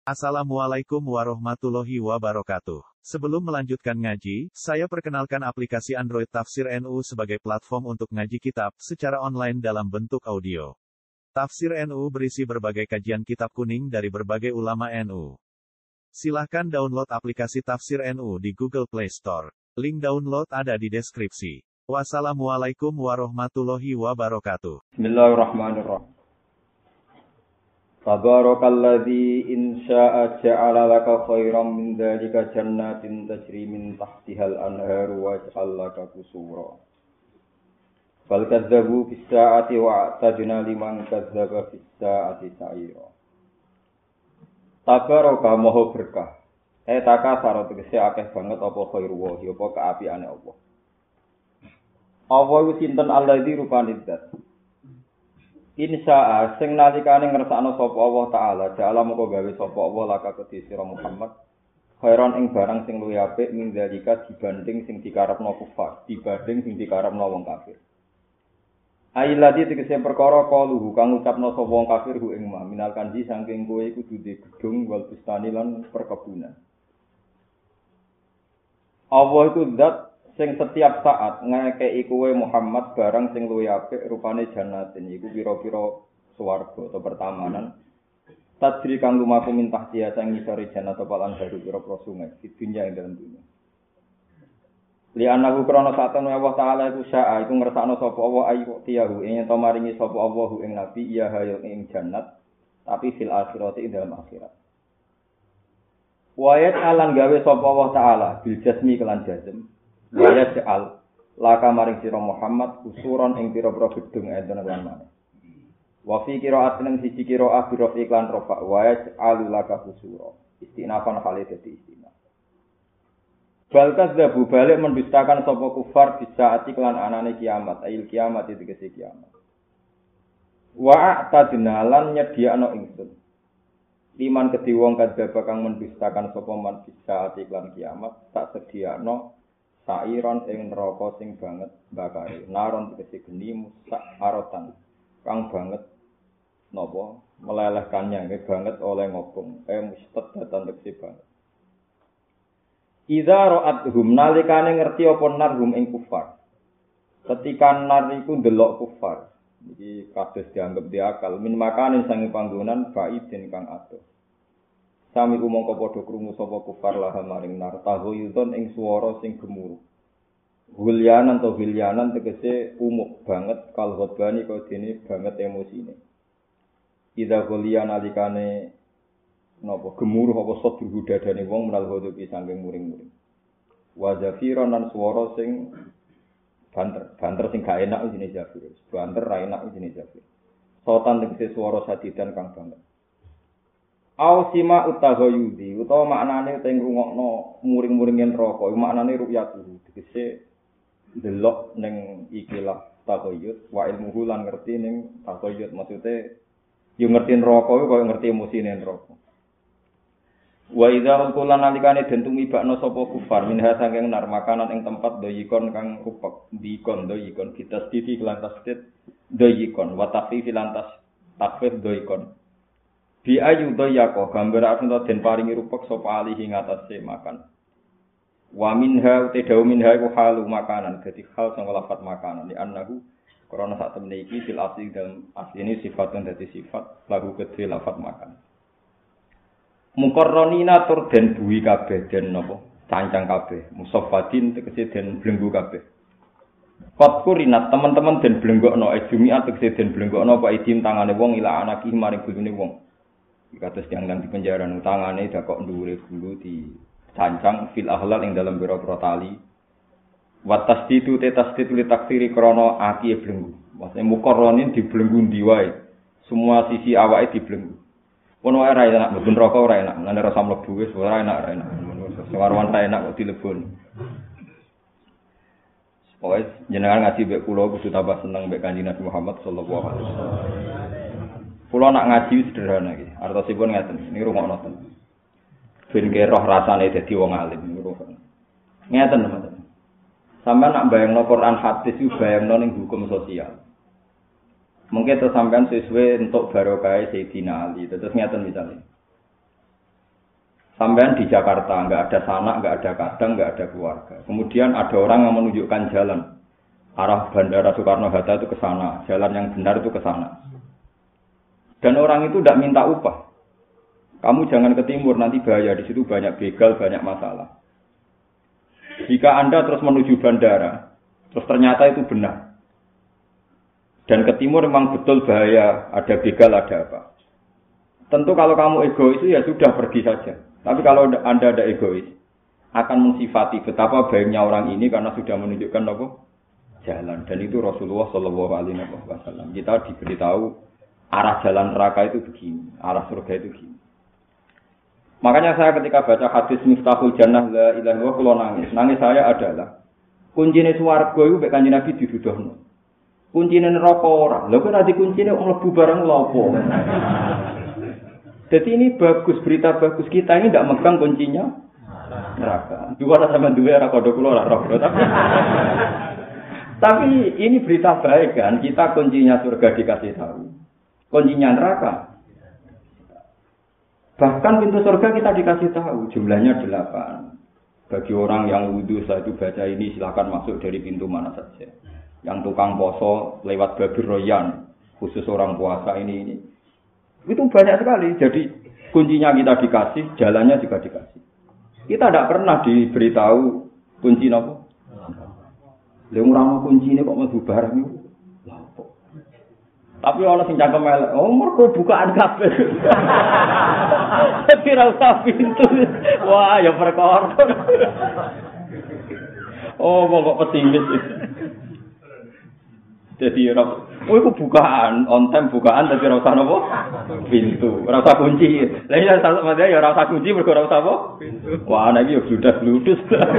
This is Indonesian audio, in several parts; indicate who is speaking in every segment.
Speaker 1: Assalamualaikum warahmatullahi wabarakatuh. Sebelum melanjutkan ngaji, saya perkenalkan aplikasi Android Tafsir NU sebagai platform untuk ngaji kitab secara online dalam bentuk audio. Tafsir NU berisi berbagai kajian kitab kuning dari berbagai ulama NU. Silahkan download aplikasi Tafsir NU di Google Play Store. Link download ada di deskripsi. Wassalamualaikum warahmatullahi wabarakatuh.
Speaker 2: Bismillahirrahmanirrahim. Tabarakalladzi in syaa'a ja'ala laka khairan min dzalika jannatin tajri min tahtihal anharu wa ja'al laka qusura. Bal kadzdzabu bis saa'ati wa a'tadna liman kadzdzaba bis saa'ati sa'ira. Tabaraka maha berkah. Takasara tegese akeh banget apa khairu wa apa kaapiane Allah. Allah iku sinten alladzi rupane zat. Insya'a sing nalikane ngersakno sapa Allah taala ja'ala moko gawe sapa Allah laka kedhi sira Muhammad khairon ing barang sing luwih apik min dalika dibanding sing dikarepno kufar dibanding sing dikarepno wong kafir. Ailati tegese perkara kaluhu kang ucapno sapa wong kafir hu ing ma minal kanji saking kowe iku duwe gedung wal bustani lan perkebunan. Allah iku zat sing setiap saat ngekeki kowe Muhammad barang sing luwih apik rupane jannatin iku pira-pira swarga atau pertamanan tajri kang lumaku mintah dia sang ngisore jannat palan baru pira-pira sungai di dunya ing dalem dunya li anahu krana satene Allah taala iku syaa iku ngersakno sapa Allah ayu tiyahu ing to maringi sapa Allah ing nabi iya hayo ing jannat tapi fil akhirati ing dalem akhirat wayat alan gawe sapa Allah taala bil jasmi kelan jazm waya ja'al laka maring sira Muhammad kusuron ing pira-pira gedung enten lan maneh. Wa fi qira'atin ing siji qira'ah bi rafi iklan rafa waya ja'al laka kusura. Istinafan kali dadi istinaf. Bal kadzabu balik mendustakan sapa kufar bisa ati kelan anane kiamat, ail kiamat itu tegese kiamat. Wa a'tadna lan nyediakno ingsun. Liman kedhi wong kadzaba kang mendustakan sapa man bisa ati kelan kiamat tak sediakno sairon ing neraka sing banget bakare naron tegese geni musak arotan kang banget napa melelehkannya nggih banget oleh ngobong mustad datan tegese banget idza ra'athum nalikane ngerti apa narhum ing kufar ketika nar iku ndelok kufar iki kados dianggep diakal min makanin sange panggonan baidin kang adoh sami umangka padha krungu sapa kufar lah maring nar tahuyuton ing swara sing gemuruh. Gulyanan to gulyanan tegese umuk banget kal ghadbani kok dene banget emosine. Ida gulyan alikane napa gemuruh apa sadru dadane wong menal hodopi saking muring-muring. Wa zafiran lan swara sing banter sing gak enak jenenge zafir. Banter ra enak jenenge zafir. Sotan tegese swara sadidan kang banget. Au sima utaghayudi utawa maknane teng rungokno muring-muringen neraka iku maknane ru'yatu tegese delok ning ikilah taghayyud wa ilmuhu lan ngerti ning taghayyud maksude yo ngerti neraka iku koyo ngerti emosine neraka wa idza qulna nalikane den tumibakno sapa kufar minha saking nar makanan ing tempat doyikon kang rupek dikon doyikon ditasdidi lan tasdid doyikon wa takhfif lan takhfif doyikon bi ayu doyako gambar arep den paringi rupek sapa alihi ngatasé makan wa minha tadau minha iku halu makanan dadi hal sing lafat makanan di annahu krana sak temene iki fil asli dalam asline sifatun dadi sifat lagu kedhe lafat makan mukarronina tur den buwi kabeh den napa cancang kabeh musaffadin tegese den blenggu kabeh Kot kurinat teman-teman den blenggokno jumiat tegese den blenggokno apa idim tangane wong ila anaki maring gulune wong kados yang nang di penjara tangane dakok dhuwure gulu di cancang fil ahlal ing dalam biro-biro tali wa tasdidu te tasdid li taksiri krana aki blenggu maksudnya mukarronin dibelenggu ndi wae semua sisi awake dibelenggu ono ora enak mboten rokok ora enak lan rasa mlebu wis ora enak sewarwan ra enak kok dileboni wis jenengan ngaji mbek kula kudu tambah seneng mbek Kanjeng Nabi Muhammad sallallahu alaihi wasallam kula nak ngaji sederhana iki artosipun ngaten niku rungokno ten ben roh rasane dadi wong alim niku ngeten teman-teman sampeyan nak bayangno Quran hadis iku bayangno ning hukum sosial mungkin terus sampean sesuai untuk barokah Sayyidina Ali terus ngeten misalnya Sampean di Jakarta, nggak ada sanak, nggak ada kadang, nggak ada keluarga. Kemudian ada orang yang menunjukkan jalan. Arah Bandara Soekarno-Hatta itu ke sana, jalan yang benar itu ke sana. Dan orang itu tidak minta upah. Kamu jangan ke timur, nanti bahaya, di situ banyak begal, banyak masalah. Jika Anda terus menuju bandara, terus ternyata itu benar. Dan ke timur memang betul bahaya, ada begal, ada apa. Tentu kalau kamu egois ya sudah pergi saja. Tapi kalau Anda ada egois, akan mensifati betapa baiknya orang ini karena sudah menunjukkan apa? Jalan. Dan itu Rasulullah Shallallahu Alaihi Wasallam. Kita diberitahu arah jalan neraka itu begini, arah surga itu begini. Makanya saya ketika baca hadis Miftahul Jannah la ilaha illallah kula nangis. Nangis saya adalah kuncine swarga iku mek Kanjeng Nabi diduduhno. Kuncine neraka ora. Lha kok ora dikuncine wong mlebu barang lha apa? Jadi ini bagus, berita bagus. Kita ini tidak megang kuncinya neraka. Dua sama dua era kodok keluar roh. Tapi ini berita baik kan? Kita kuncinya surga dikasih tahu. Kuncinya neraka. Bahkan pintu surga kita dikasih tahu. Jumlahnya 8. Bagi orang yang wudhu setelah itu baca ini silakan masuk dari pintu mana saja. Yang tukang poso lewat Babir Royan. Khusus orang puasa ini. Itu banyak sekali. Jadi kuncinya kita dikasih, jalannya juga dikasih. Kita tidak pernah diberitahu kunci apa. Lha ora mau kuncine kok mlebu barang itu. Tapi ana sing cangkem elek. Oh, mergo bukaan kabeh. Kira usah pintu. Wah, ya perkara. Oh, kok pesimis. Jadi iku bukaan, on time bukaan tapi ora usah napa? Pintu. Ora usah kunci. Lah ya sampeyan ya ora usah kunci mergo ora usah apa? Pintu. Wah, nek iki yo bludas-bludus.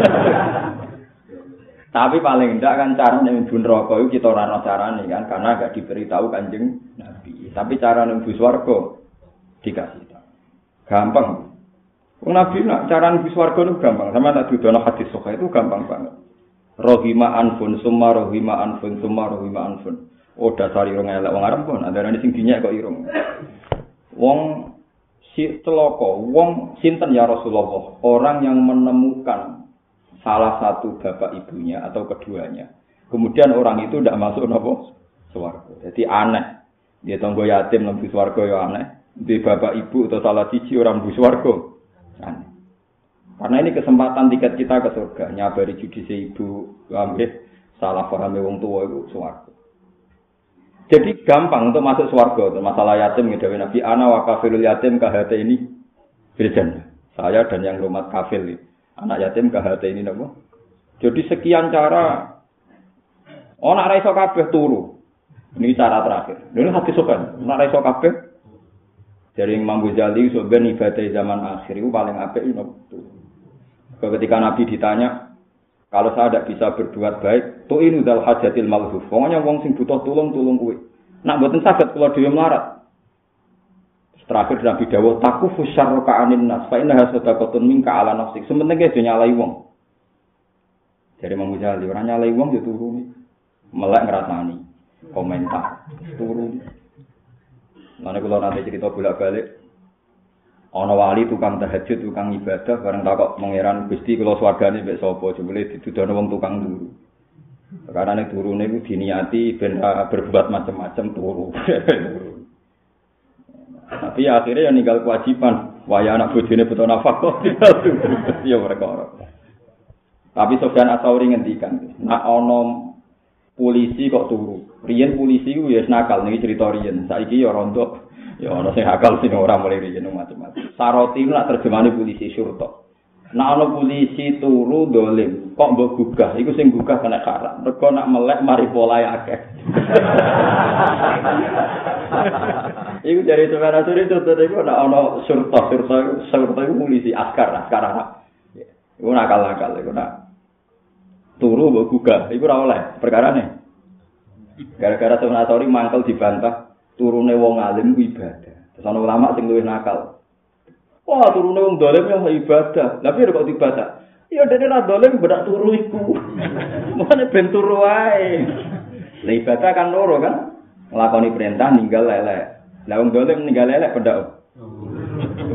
Speaker 2: Tapi paling ndak kan carane mlebu neraka iku kita ora ana carane kan karena gak diberitahu Kanjeng Nabi. Tapi cara mlebu swarga dikasih tahu. Gampang. Wong Nabi nak cara mlebu swarga itu gampang. Sama tak dudono hadis sahih itu gampang banget. Rohima anfun summa rohima anfun summa rohima anfun. Oh dasar irung elek wong Arab pun andarane sing dinyek kok irung. Wong si celaka, wong sinten ya Rasulullah, orang yang menemukan salah satu bapak ibunya atau keduanya. Kemudian orang itu tidak masuk napa? Swarga. Jadi aneh. Dia tangga yatim nang swarga ya aneh. Di bapak ibu atau salah siji orang bu swarga. Aneh. Karena ini kesempatan tiket kita ke surga. Nyabari judisi ibu, ambil salah paham wong tua itu swarga. Jadi gampang untuk masuk swarga. Masalah yatim gitu. Nabi ana wa kafilul yatim kahate ini berjana. Saya dan yang rumah kafil anak yatim kahate ini napa? Jadi sekian cara. Oh nak ra iso kabeh turu. Ini cara terakhir. Ini hati sokan. Nak ra iso kabeh dari Imam Ghazali sebenarnya ibadah zaman akhir itu paling apik itu turu. Ketika Nabi ditanya, kalau saya tidak bisa berbuat baik, tu ini dal hajatil malhuf. Pokoknya wong sing butuh tulung kuwi. Nak mboten saged kula dhewe melarat. Terakhir Nabi dawuh takufu syarruka anin nas fa innaha sadaqatun minka ala nafsik. Sementing ge nyalai wong. Jadi Imam Ghazali ora nyalai wong yo turu. Melek ngrasani. Komentar turu. Lan kula nate cerita bolak-balik ana wali tukang tahajud, tukang ibadah, bareng takok pangeran Gusti kula swargane mbek sapa, jebule didudono wong tukang turu. Perkarane turune iku diniati ben berbuat macam-macam turu. Tapi akhirnya ya ninggal kewajiban, waya anak bojone butuh nafkah ya perkara. Tapi Sofyan Ats-Tsauri ngendikan, nek ana polisi kok turu. Riyen polisi ku wis nakal niki cerita riyen. Saiki ya rontok. Ya ana sing akal sing ora mulai riyen macam-macam. Saroti nak terjemahane polisi syurta. Nek ana polisi turu dolim, kok mbok gugah, iku sing gugah kena karak. Mergo nak melek mari polahe akeh. Iku dari sebenarnya suri itu iku nek ana syurta iku polisi askar Arab. Iku nakal-nakal iku nak turu mbok gugah, iku ora oleh perkarane. Gara-gara Sofyan Ats-Tsauri mangkel dibantah turune wong alim ku ibadah. Terus ana ulama sing luwih nakal. Wah, turune wong dolim yang ibadah. Lah piye kok ibadah? Ya dene ra dolim bedak turu iku. Mane ben turu wae. Lah ibadah kan loro kan? Nglakoni perintah ninggal lelek. Lah wong dolim ninggal lelek bedak.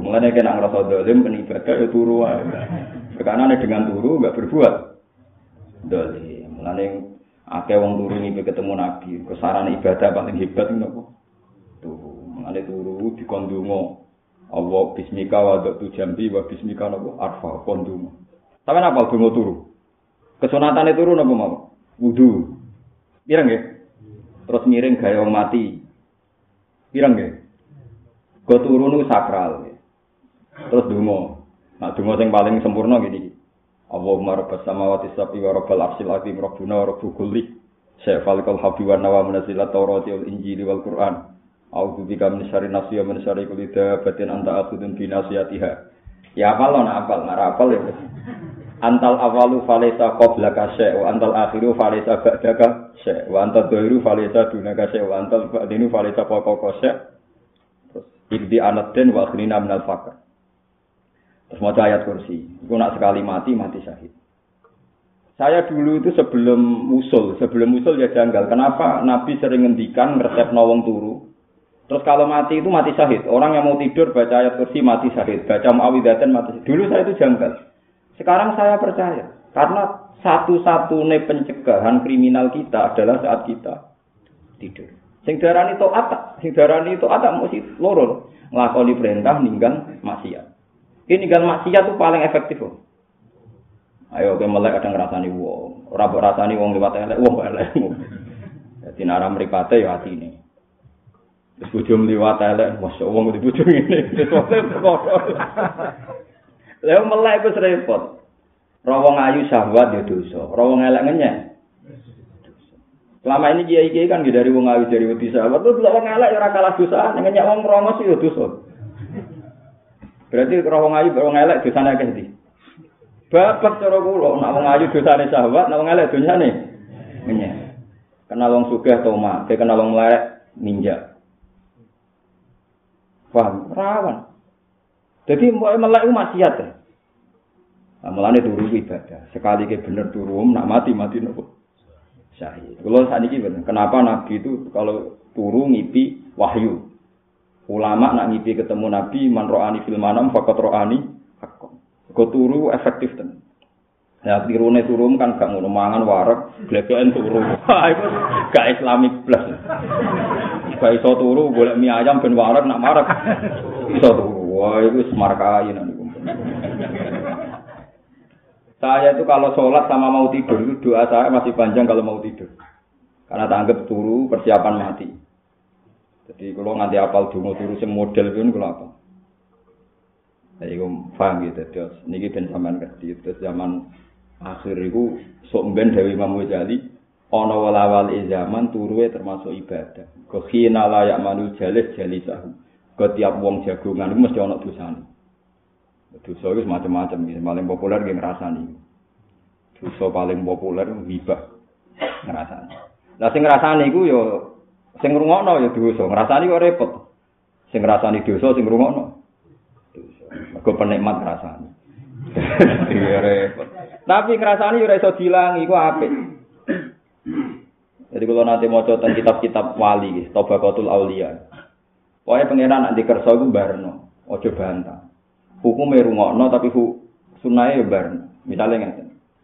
Speaker 2: Mulane kena ngrasa dolim kan ibadah ya turu wae. Perkarane dengan turu enggak berbuat dolim. Mulane akeh wong turu niku ketemu Nabi, kesarane ibadah paling hebat napa? Turu. Mulane turu dikon donga. Allah bismika wa datu jambi wa bismika napa arfa kon donga. Sampeyan apa donga turu? Kesunatane turu napa mau? Wudu. Pirang nggih? Terus miring gaya wong mati. Pirang nggih? Go turu niku sakral. Terus donga. Nah donga sing paling sempurna gini. Allahumma rabbas samawati sab'i wa rabbal arsyil azim rabbuna wa rabbul kulli. Syaifalikal habbi wa nawa menazilat taurati wal injili wal qur'an. A'udzu bika min syarri nafsi wa min syarri kulli dabatin anta akhudun bi nasiyatiha. Ya apal ana apal, ora apal ya. Antal awalu falaysa qablaka syai' wa antal akhiru falaysa ba'daka syai' wa antal dhahiru falaysa dunaka syai' wa antal ba'dinu falaysa fawqaka syai'. Terus ibdi anatin wa akhrina minal faqr. Terus maca ayat kursi. Iku nak sekali mati syahid. Saya dulu itu sebelum usul ya janggal. Kenapa Nabi sering ngendikan ngeresepno wong turu. Terus kalau mati itu mati syahid. Orang yang mau tidur baca ayat kursi mati syahid. Baca muawwidzatain mati syahid. Dulu saya itu janggal. Sekarang saya percaya. Karena satu-satunya pencegahan kriminal kita adalah saat kita tidur. Sing darani taat mesti loro. Nglakoni perintah ninggal maksiat. Ini ninggal maksiat itu paling efektif. Ayo ke melek kadang ngrasani wong. Ora mbok rasani wong liwat elek wong kok elek. Dadi nek ora mripate ya atine. Terus bojo liwat elek, masya wong kudu bojo ngene. Lha melek iku repot. Ora wong ayu syahwat ya dosa. Ora wong elek ngenyek. Selama ini kiai-kiai kan dari wong ayu dari wedi syahwat, terus wong elek ya ora kalah dosa, ngenyek wong rongos ya dosa. Berarti ora wong ayu wong elek dosane akeh ndi? Bapak cara kula, nek wong ayu dosane syahwat, nek wong elek dosane ngenyek. Kenal wong sugih toma, kenal wong elek ninja. Paham? Rawan. Jadi melek itu maksiat ya. Nah, mulane turu ibadah. Sekali ke bener turu nak mati nopo. Syahid. Kalau saat ini bener. Kenapa Nabi itu kalau turu ngipi wahyu. Ulama nak ngipi ketemu Nabi man ro'ani fil manam faqat ro'ani haqqan. Kok turu efektif tenan. Ya tirune turu kan gak ngono mangan wareg, gleken turu. Iku gak islamik plus. Gak iso turu golek mie ayam ben wareg nak mareg. Iso turu. Wah, itu semarkai niku. Saya itu kalau sholat sama mau tidur itu doa saya masih panjang kalau mau tidur. Karena tanggap turu persiapan mati. Jadi kalau nanti apal dungo turu sing model pun kalau apa. Saya paham gitu. Terus niki ben sampean ngerti. Terus zaman akhir itu sok ben Dewi Imam Ghazali ana walawal zaman turuwe termasuk ibadah. Khina la ya'malu jalis jalisahu. Tiap wong jagongan itu mesti ana dosane. Dosa itu macam-macam, paling populer yang ngerasani. Dosa paling populer hibah ngerasani. Lah sing ngrasani iku ya sing ngrungokno ya dosa, ngrasani kok repot. Sing ngrasani dosa sing ngrungokno. Dosa. Mergo penikmat ngrasani. Iya repot. Tapi ngrasani ora iso dilangi iku apik. Jadi kalau nanti maca tentang kitab-kitab wali, Tabaqatul Auliya. Pokoke pangeran nek dikersa iku barno, aja bantah. Hukume rungokno tapi sunahe ya barno. Misale ngeten.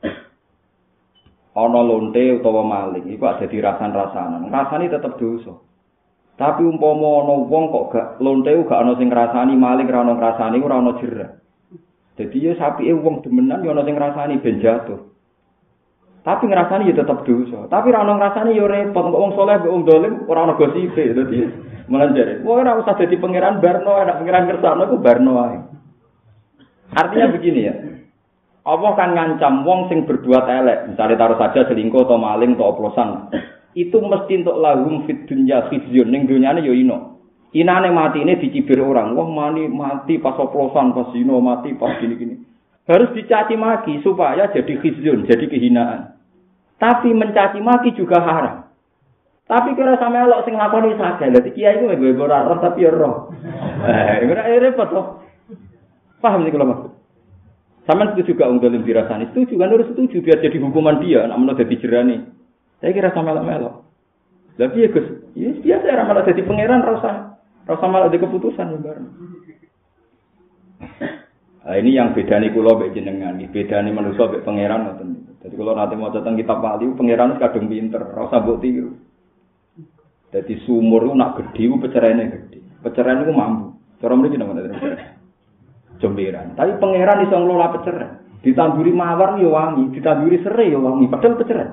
Speaker 2: Ana lonte utawa maling iku ada dirasan-rasanan. Rasane tetep dosa. Tapi umpama ana wong kok gak lonte gak ana sing ngrasani, maling ora ana ngrasani, ora ana jerah. Dadi ya sapike wong demenan ya ana sing ngrasani ben jatuh. Tapi ngrasani ya tetep dosa. Tapi ora ana ngrasani ya repot. Kok wong saleh kok wong dolim ora ana gosipe. Dadi melanjare. Wong ora usah dadi pangeran barno, ana pangeran kersane ku barno wae. Artinya begini ya. Allah kan ngancam wong sing berbuat elek, misalnya taruh saja selingkuh atau maling atau oplosan. Itu mesti untuk lahum fid dunya khizyun, ning dunyane ya ino. Inane mati ini dicibir orang. Wah mati pas oplosan, pas zina, mati pas gini-gini. Harus dicaci maki supaya jadi khizyun, jadi kehinaan. Tapi mencaci maki juga haram. Tapi kira sama elok sing lakoni saja. Dadi kiai ku nggo ora roh tapi ya roh. Ora repot toh. Paham nih kalau maksud? Sama setuju juga unggalin dirasani. Setuju kan harus setuju biar jadi hukuman dia. Nak menurut jadi jerani. Saya kira sama melok. Tapi ya Gus, ya biasa malah jadi pangeran rasa malah ada keputusan ya bareng. Nah, ini yang bedane kula mbek jenengan, iki bedane manusa mbek pangeran ngoten. Dadi kula nate maca teng kitab wali pangeran kadung pinter, ora usah mbok tiru. Dadi sumur ku nak gedhe ku pecerene gedhe. Pecerene ku mampu. Cara mriki napa pecerene? Jomberan. Tapi pangeran iso ngelola peceren. Ditanduri mawar ya wangi, ditanduri serai ya wangi, padahal peceren.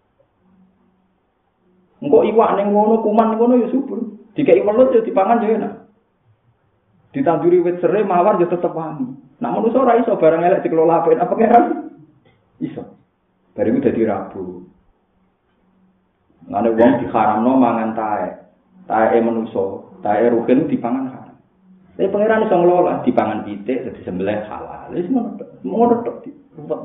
Speaker 2: Engko iwak ning ngono, kuman ngono ya subur. Dikeki welut ya dipangan ya enak. Ditanduri wit serai mawar ya tetep wangi. Nak manusa ora iso barang elek dikelola apik apa pangeran? Iso. Bariku dadi rabu. Ngene wong diharamno mangan taek. Taeke manusa, taeke ruhin dipangan haram. Tapi pangeran iso ngelola dipangan pitik dadi sembelih halal. Wis ngono tok ruwet.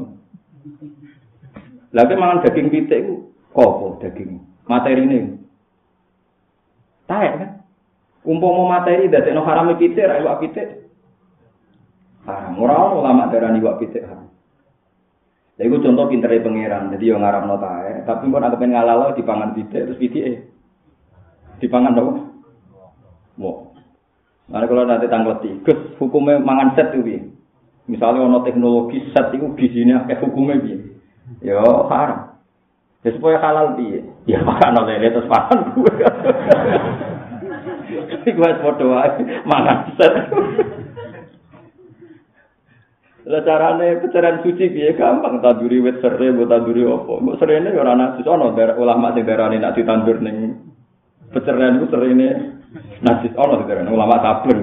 Speaker 2: Lah mangan daging pitik ku kopo daging? Materine. Taek kan? Umpama materi dadekno harame pitik ra iwak pitik. Haram. Ora ulama darani iwak pitik haram. Lha iku contoh pintere pangeran. Dadi yo ngarepno taek, tapi kok nek pengen ngalalo dipangan pitik terus pitike dipangan opo? Wo. Nah, kalau nanti tanggleti, Gus, hukumnya mangan set itu piye? Misalnya ono teknologi set itu gizinya hukumnya piye? Ya haram. Ya supaya halal piye? Ya makan oleh terus makan gue. Iku wis padha wae mangan set. Lah carane peceran suci piye gampang tanduri wit serai, mbok tanduri apa? Mbok serene ya ora najis ana ulama sing darani nek ditandur ning peceran iku serene najis ana darane ulama sabar.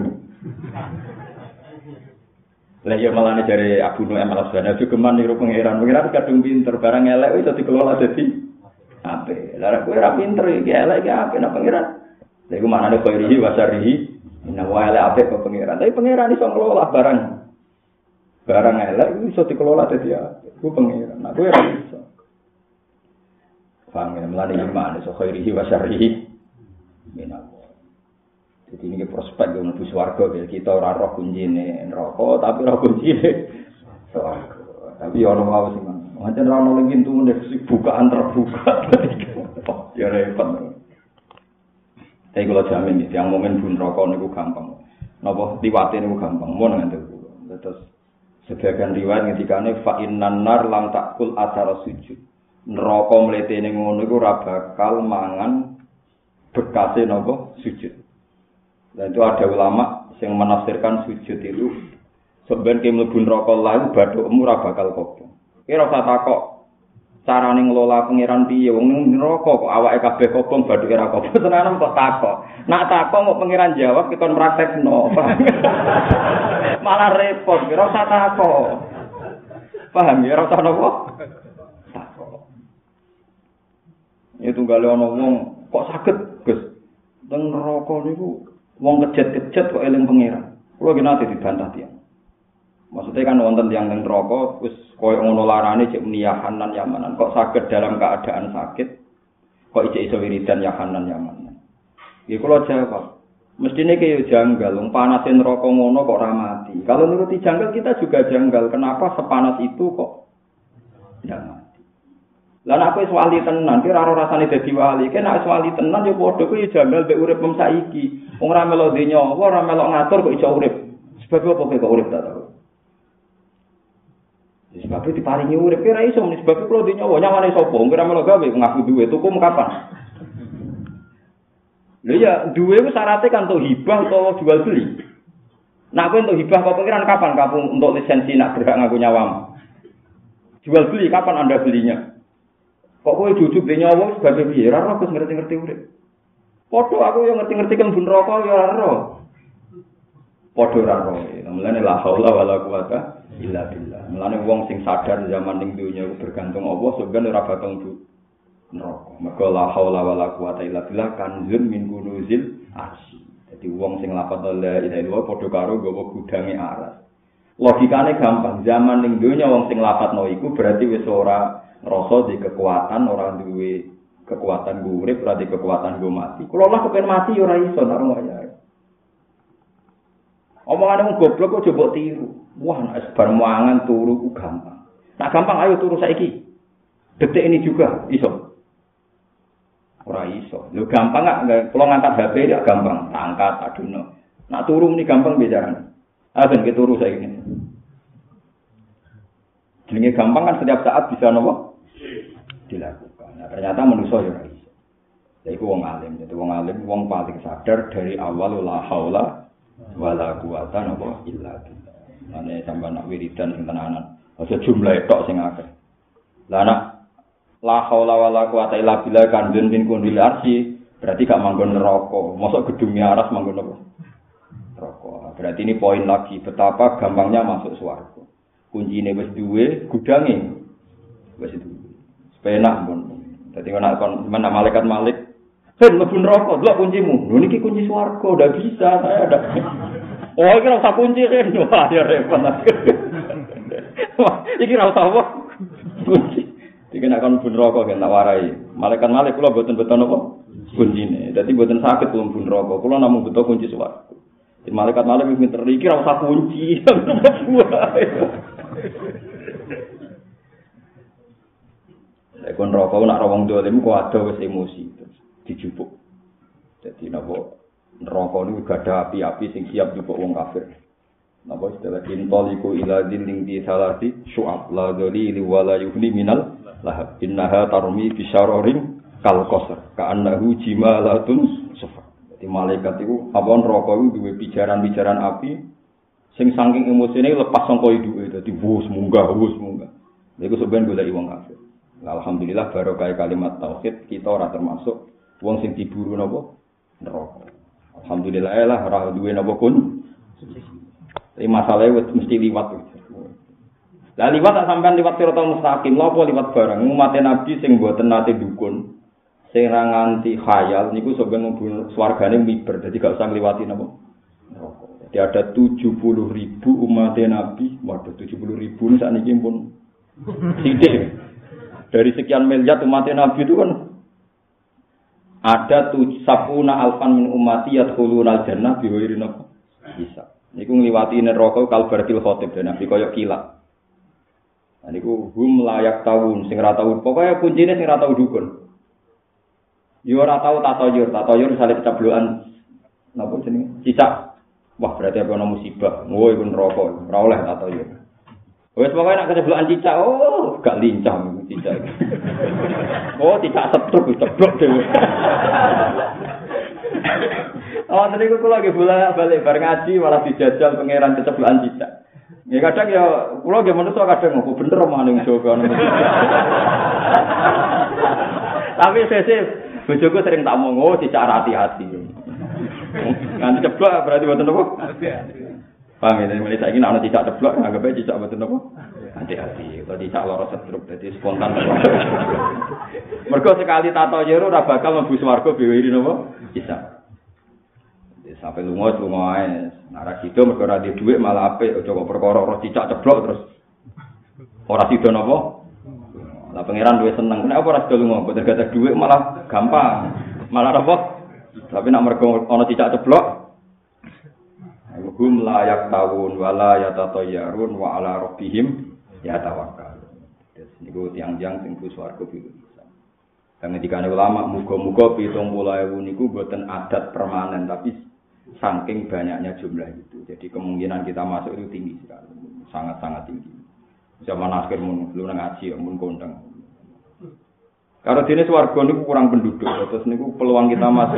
Speaker 2: Lah ya malane jare Abu Nu'aim al-Asbahani geman niru pangeran kadung pinter barang elek iso dikelola dadi apik. Lah kowe ora pinter iki elek iki apik nang pangeran. Lha iku manane khairihi wa syarrihi inna wa ala apik kok pangeran. Tapi pangeran iso ngelola barang elek iso dikelola dadi apik. Ku pangeran. Nah kowe ora iso. Paham ya melane iman iso khairihi wa syarrihi inna. Jadi ini prospek yang lebih swarga kita ora roh kuncine neraka tapi roh kuncine swarga. Tapi ono wae sing pancen ora ono pintu nek bukaan terbuka. Ya repot. Tapi kalau jamin yang momen bun rokok niku gampang. Napa liwate niku gampang. Mun ngene kula. Terus sebagian riwayat ngendikane fa innan nar lam takul athara sujud. Neraka mletene ngono iku ora bakal mangan bekase napa sujud. Dan itu ada ulama yang menafsirkan sujud itu sebenarnya ke mlebu neraka lalu bathukmu ora bakal kobong. Ki ora usah takok carane ngelola pangeran piye wong ning neraka kok awake kabeh kobong bathuke ora kobong. Tenan kok takok. Nak takok kok pangeran jawab kita praktekno. Malah repot, ora usah takok. Paham ya ora usah napa? Takok. Itu gale ana wong kok saged, Gus. Teng neraka niku wong kejet-kejet kok eling pangeran. Kulo ki nate dibantah tiyang. Maksudnya kan wonten tiyang teng neraka wis koyo ngono larane cek niyahanan yamanan. Kok saged dalam keadaan sakit kok iso wiridan yahanan yamanan. Iki kulo jawab. Mestine ki yo janggal wong panase neraka ngono kok ora mati. Kalau nuruti janggal kita juga janggal. Kenapa sepanas itu kok ndak mati? Lah nek wis wali tenan ki ora rasane dadi wali. Ki nek wis wali tenan yo padha kuwi janggal mek urip mem saiki. Wong ora melok nyawa, ora melok ngatur kok iso urip. Sebab apa kok urip ta to? Sebab diparingi urip ora iso mesti sebab kulo nyawa nyawane sapa? Wong ora melok gawe ngaku duwe tuku kapan? Lha ya duwe ku syaratnya kan untuk hibah atau jual beli. Nak kowe untuk hibah kok pengiran kapan kamu untuk lisensi nak berhak ngaku nyawamu? Jual beli kapan Anda belinya? Kok kowe jujuk beli nyawa sebagai piye? Ora ora ngerti-ngerti urip. Padha aku yo ngerti-ngerti kan bun rokok yo ora ora. Padha ora ora. Mulane la haula wala quwata illa billah. Mulane wong sing sadar zaman ning donya iku bergantung Allah sebenarnya ora bakal neraka. Mergo la haula wala quwata illa billah kanzun min kunuzil arsy. Dadi wong sing lafal la ilaha illallah padha karo nggawa gudange aras. Logikane gampang. Zaman ning donya wong sing lafadzno iku berarti wis ora ngrasa di kekuatan, ora duwe kekuatan urip, ora di kekuatan go mati. Kulo lah kepen mati ora iso nek ora wae. Omongane wong goblok kok coba tiru. Wah, nek bar mangan turu ku gampang. Nak gampang ayo turu saiki. Detik ini juga iso. Ora iso. Lho gampang gak kulo ngangkat HP ya gampang, angkat aduno. Nak turu muni gampang bicarane. Agen kita turu saya ini. Jenenge gampang kan setiap saat bisa nopo dilakukan. Nah, ternyata manusia ya ora iso. Lha iku wong alim, jadi wong alim wong paling sadar dari awal la haula wala quwata illa billah. Ane sampeyan nak wiridan sing tenanan. Aja jumlahe tok sing akeh. Lah nak la haula wala quwata illa billah kan den kundil arsi berarti gak manggon neraka. Mosok gedungnya aras manggon apa? Neraka. Berarti ini poin lagi betapa gampangnya masuk swarga. Kuncine wis duwe, gudange wis duwe. Penak pun. Dadi nek kon menak malaikat malik, "Hen mlebu neraka, delok kuncimu." Lho niki kunci swarga, udah bisa saya ada. Oh, iki ora usah kunci kan. Wah, ya repot. Wah, iki ora usah apa? Kunci. Iki nek kon mlebu neraka kan tak warai. Malaikat malik kula mboten-mboten apa? Kuncine. Dadi mboten saged kula mlebu neraka. Kula namung butuh kunci swarga. Malaikat malik wis pinter iki ora usah kunci. Kon rokok nak rawang dolim kok ada wis emosi terus dijupuk. Dadi napa neraka niku gadah api-api sing siap jupuk wong kafir. Napa istilah intoliku ila dzilling di salati syu'ab la dzalili wala yuhni minal lahab innaha tarmi bi syararin kal qasr ka'annahu jimalatun sufar. Dadi malaikat iku apa neraka iku duwe pijaran-pijaran api sing saking emosine lepas sangka iduke dadi wus munggah. Niku sampeyan golek wong kafir. Alhamdulillah barokah kalimat tauhid kita ora termasuk wong sing diburu napa neraka. Alhamdulillah lah ora duwe napa kun. Tapi masalahe wis mesti liwat. Lah liwat tak sampean liwat siratal mustaqim, lha apa liwat barang umat Nabi sing mboten nate dukun. Sing ra nganti khayal niku sampeyan mlebu swargane miber, dadi gak usah ngliwati napa neraka. Jadi ada 70.000 umat Nabi, waduh 70.000 sakniki pun sithik. Dari sekian miliar umat Nabi itu kan ada 70 alfan min ummati yadkhuluna al-jannah bi ghairi hisab. Niku ngliwati neraka kalbaratil khotib dan Nabi koyo kilat. Nah niku hum layak tahun sing ora tau pokoke kuncine sing ora tau dukun. Yo ora tau tatoyur salib cablokan napa jenenge? Cicak. Wah berarti ana musibah. Oh iku neraka, ora oleh tatoyur. Wes pokoke nek keceblokan cicak, oh gak lincah cicak. Oh cicak setruk ceblok dhewe. Oh tadi kula lagi balik bar ngaji malah dijajal pangeran keceblokan cicak. Ya kadang ya kula nggih menungso kadang kok bener maning Jawa. Tapi sesuk bojoku sering tak omong, oh cicak hati-hati. Nanti ceblok berarti mboten apa? Paham ya, mulai saiki nek ana cicak ceblok anggap ae cicak mboten apa? Hati-hati, kalau cicak lara setruk dadi spontan. Mergo sekali tato jero ora bakal mlebu swarga biwiri napa? Bisa. Sampai lunga ae. Nek sida mergo ora duwe dhuwit malah apik, aja kok perkara ora cicak ceblok terus ora sida napa? Lah pangeran duwe seneng. Nek apa ora sida lunga, boten gadah dhuwit malah gampang. Malah apa? Tapi nek mergo ana cicak ceblok hum layak tahun wala yatatayyarun wa ala rabbihim yatawakkalun. Niku tiang-tiang sing ku swarga bisa. Dan ketika ulama muga-muga 70.000 niku boten adat permanen tapi saking banyaknya jumlah itu. Jadi kemungkinan kita masuk itu tinggi sekali. Sangat-sangat tinggi. Zaman akhir mun lu nang ngaji mun kondang. Kalau dene swarga niku kurang penduduk terus niku peluang kita masuk.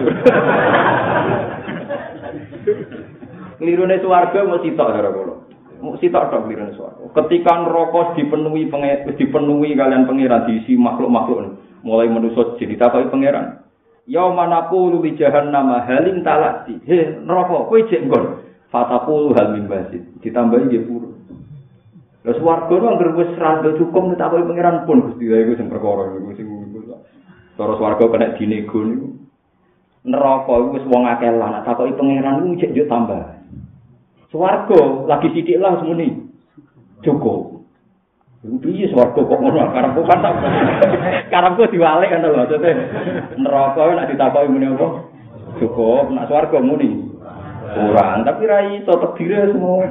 Speaker 2: Klirune swarga mesti tok karo kula. Mesti tok klirune swarga. Ketika neraka dipenuhi kalian pangeran diisi makhluk-makhluk mulai manusa jadi takoki pangeran. Ya manaqulu li jahannam halim talati. He neraka kowe jek nggon. Fataqulu hal min basid. Ditambahi nggih purun. Lah swarga ku anggere wis rada cukup takoki pangeran pun Gusti ya iku sing perkara iku sing cara swarga kena dinego niku. Neraka iku wis wong akeh lan takoki pangeran iku jek yo tambah. Swarga lagi sithik lah semuni. Cukup. Piye swarga kok ngono karepku kan tak. Karepku diwalik kan lho maksudnya. Neraka nek ditakoki muni apa? Cukup, nek swarga muni. Kurang, tapi ra iso tedire semua.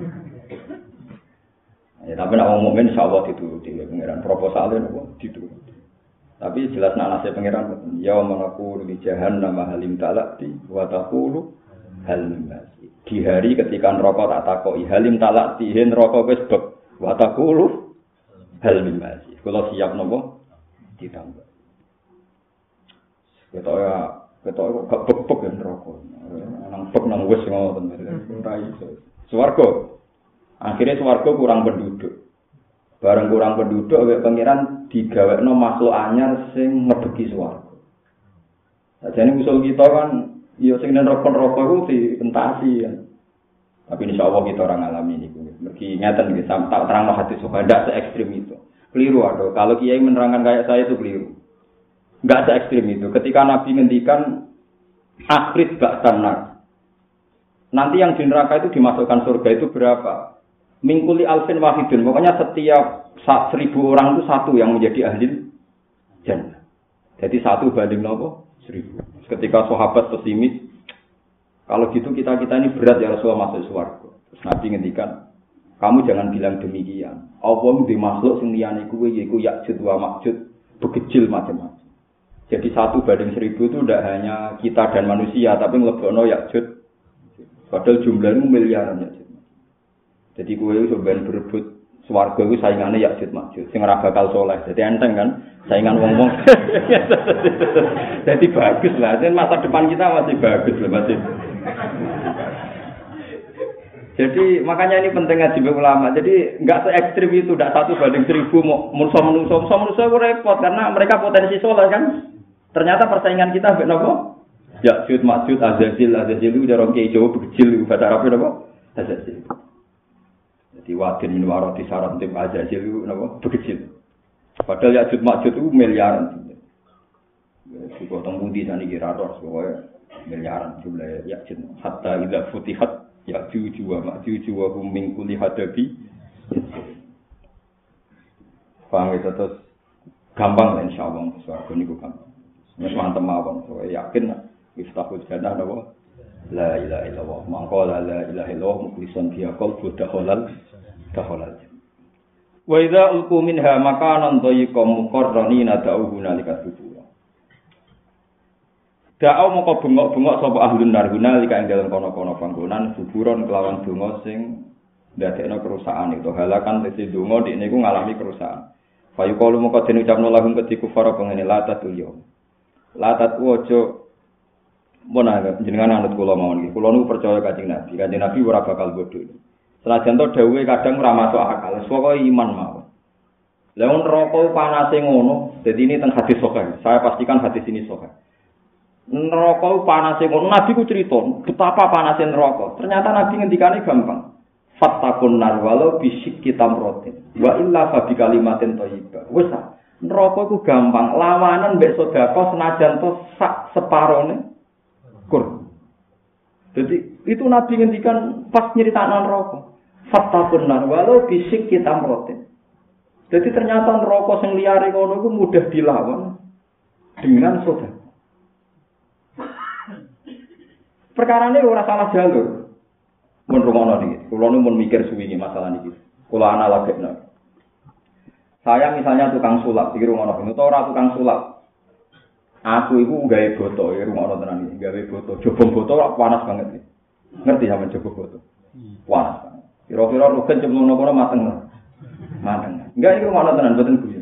Speaker 2: Ya tapi nek wong mukmin insyaallah dituruti pangeran proposalnya nopo dituruti. Tapi jelas nek nase pangeran ya manaku di jahannam halim talati wa taqulu hal min. Di hari ketika neraka tak takoki, halim talak tihin neraka wis beb. Wa taqulu hal min masih. Kula siap napa ditambah. Ketok gak bek-bek ya neraka. Nang bek nang wis ngoten. Ora iso. Swarga. Akhirnya swarga kurang penduduk. Bareng kurang penduduk awake pangeran digawekno makhluk anyar sing ngebeki swarga. Sajane usul kita kan ya sing neraka-neraka iku dientasi ya. Tapi insyaallah kita orang alami niku. Mergi ngeten nggih tak terangno hadis sok ndak se ekstrem itu. Keliru aduh. Kalau kiai menerangkan kayak saya itu keliru. Enggak se ekstrem itu. Ketika Nabi ngendikan akhir ba'sanar. Nanti yang di neraka itu dimasukkan surga itu berapa? Mingkuli alfin wahidun. Pokoknya setiap 1000 orang itu satu yang menjadi ahli jannah. Jadi 1 banding nopo 1000. Ketika sahabat pesimis, kalau gitu kita ini berat ya Rasulullah masuk surga. Terus Nabi ngendikan, kamu jangan bilang demikian. Allah di makhluk sing liyane kuwi yaiku Ya'jud wa Ma'jud, bekecil macam-macam. Jadi 1 banding 1000 itu tidak hanya kita dan manusia, tapi nglebokno Ya'jud. Padahal jumlahnya miliaran Ya'jud. Jadi kuwi sampeyan berebut swarga iku saingane Ya'jud Ma'jud. Sing ora bakal saleh. Jadi enteng kan saingan wong-wong. Jadi bagus lah. Dan masa depan kita masih bagus lah masih. Jadi makanya ini penting ngaji ulama. Jadi enggak se ekstrim itu, enggak 1 banding 1000 manusia itu repot karena mereka potensi saleh kan. Ternyata persaingan kita mbek napa? Ya'jud Ma'jud Azazil itu udah orang kiai Jawa bekecil bahasa Arab napa? Azazil. Jadi wadin min warati saran tim Azazil itu napa? Bekecil. Padahal Ya'jud Ma'jud itu miliaran. Juga teng pundi saniki ra ros pokoke miliaran jumlah Ya'jud. Hatta idza futihat Ya'jud wa Ma'jud wa hum min kulli hadabi. Paham itu terus gampang insyaallah swarga niku gampang. Wis mantep mawon, saya yakin iftahul jannah napa? La ilaha illallah. Mangko la ilaha illallah mukhlishan fi qalbi dakhalal. Wa idza ulqu minha makanan dhayiqan muqarranina da'uhu nalika subur. Da'au moko bengok-bengok sapa ahlun nar nalika ing dalem kono-kono panggonan suburon kelawan donga sing ndadekno kerusakan itu halakan tesi donga dik niku ngalami kerusakan. Fayu qalu moko den ucapno lahum ketiku fara pengene latatul yaum. Latat wojo menawa jenengan anut kula mawon iki. Kula nu percaya Kanjeng Nabi. Kanjeng Nabi ora bakal bodho. Senajan to dawuhe kadang ora masuk akal. Pokoke iman mawon. Lah neraka panase ngono, dadi ini teng hadis sahih. Saya pastikan hadis ini sahih. Neraka panase ngono, Nabi ku cerita betapa panase neraka. Ternyata Nabi ngendikane gampang. Fattakun nar walau bisik kitamrotin. Wa illa fa bi kalimatin thayyibah. Wis neraka iku gampang, lawanan mbek sedekah senajan to sak separone kur. Jadi itu Nabi ngendikan pas nyeritakno neraka. Fattakun nar walau bisik kitamrotin. Jadi ternyata neraka sing liyare kono iku mudah dilawan dengan sedekah. Perkarane ora salah jalur. Mun rumono niki, kula nu mun mikir suwi masalah niki. Kula analogikno. Saya misalnya tukang sulap, iki rumono ben ora tukang sulap. Aku iku gawe boto, ya rumono tenan iki, gawe boto. Jobong boto panas banget iki. Ngerti sampean jobong boto? Panas banget. Kira-kira rugen cemplung kono mateng. Mateng. Enggak iki rumono tenan boten guyu.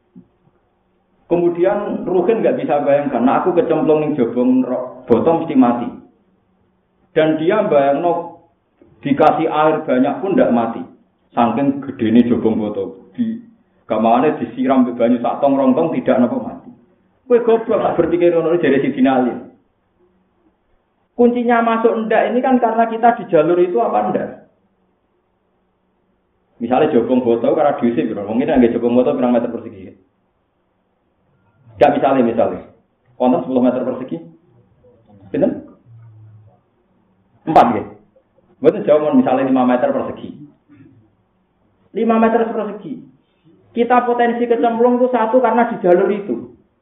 Speaker 2: Kemudian rugen enggak bisa bayangkan, nah aku kecemplung ning jobong boto mesti mati. Dan dia bayangno dikasih air banyak pun tidak mati. Saking gedene jobong boto. Di gamane disiram ke banyu sak tong rong tong tidak napa mati. Kowe goblok tak berpikir ngono jare Sidina Ali. Kuncinya masuk ndak ini kan karena kita di jalur itu apa ndak? Misalnya jobong boto karena diusir, mungkin nggak jobong boto berapa meter persegi? Enggak misalnya. Konten 10 meter persegi. Pinten? 4 nggih. Mboten jauh misalnya 5 meter persegi. 5 meter persegi. Kita potensi kecemplung itu satu karena di jalur itu.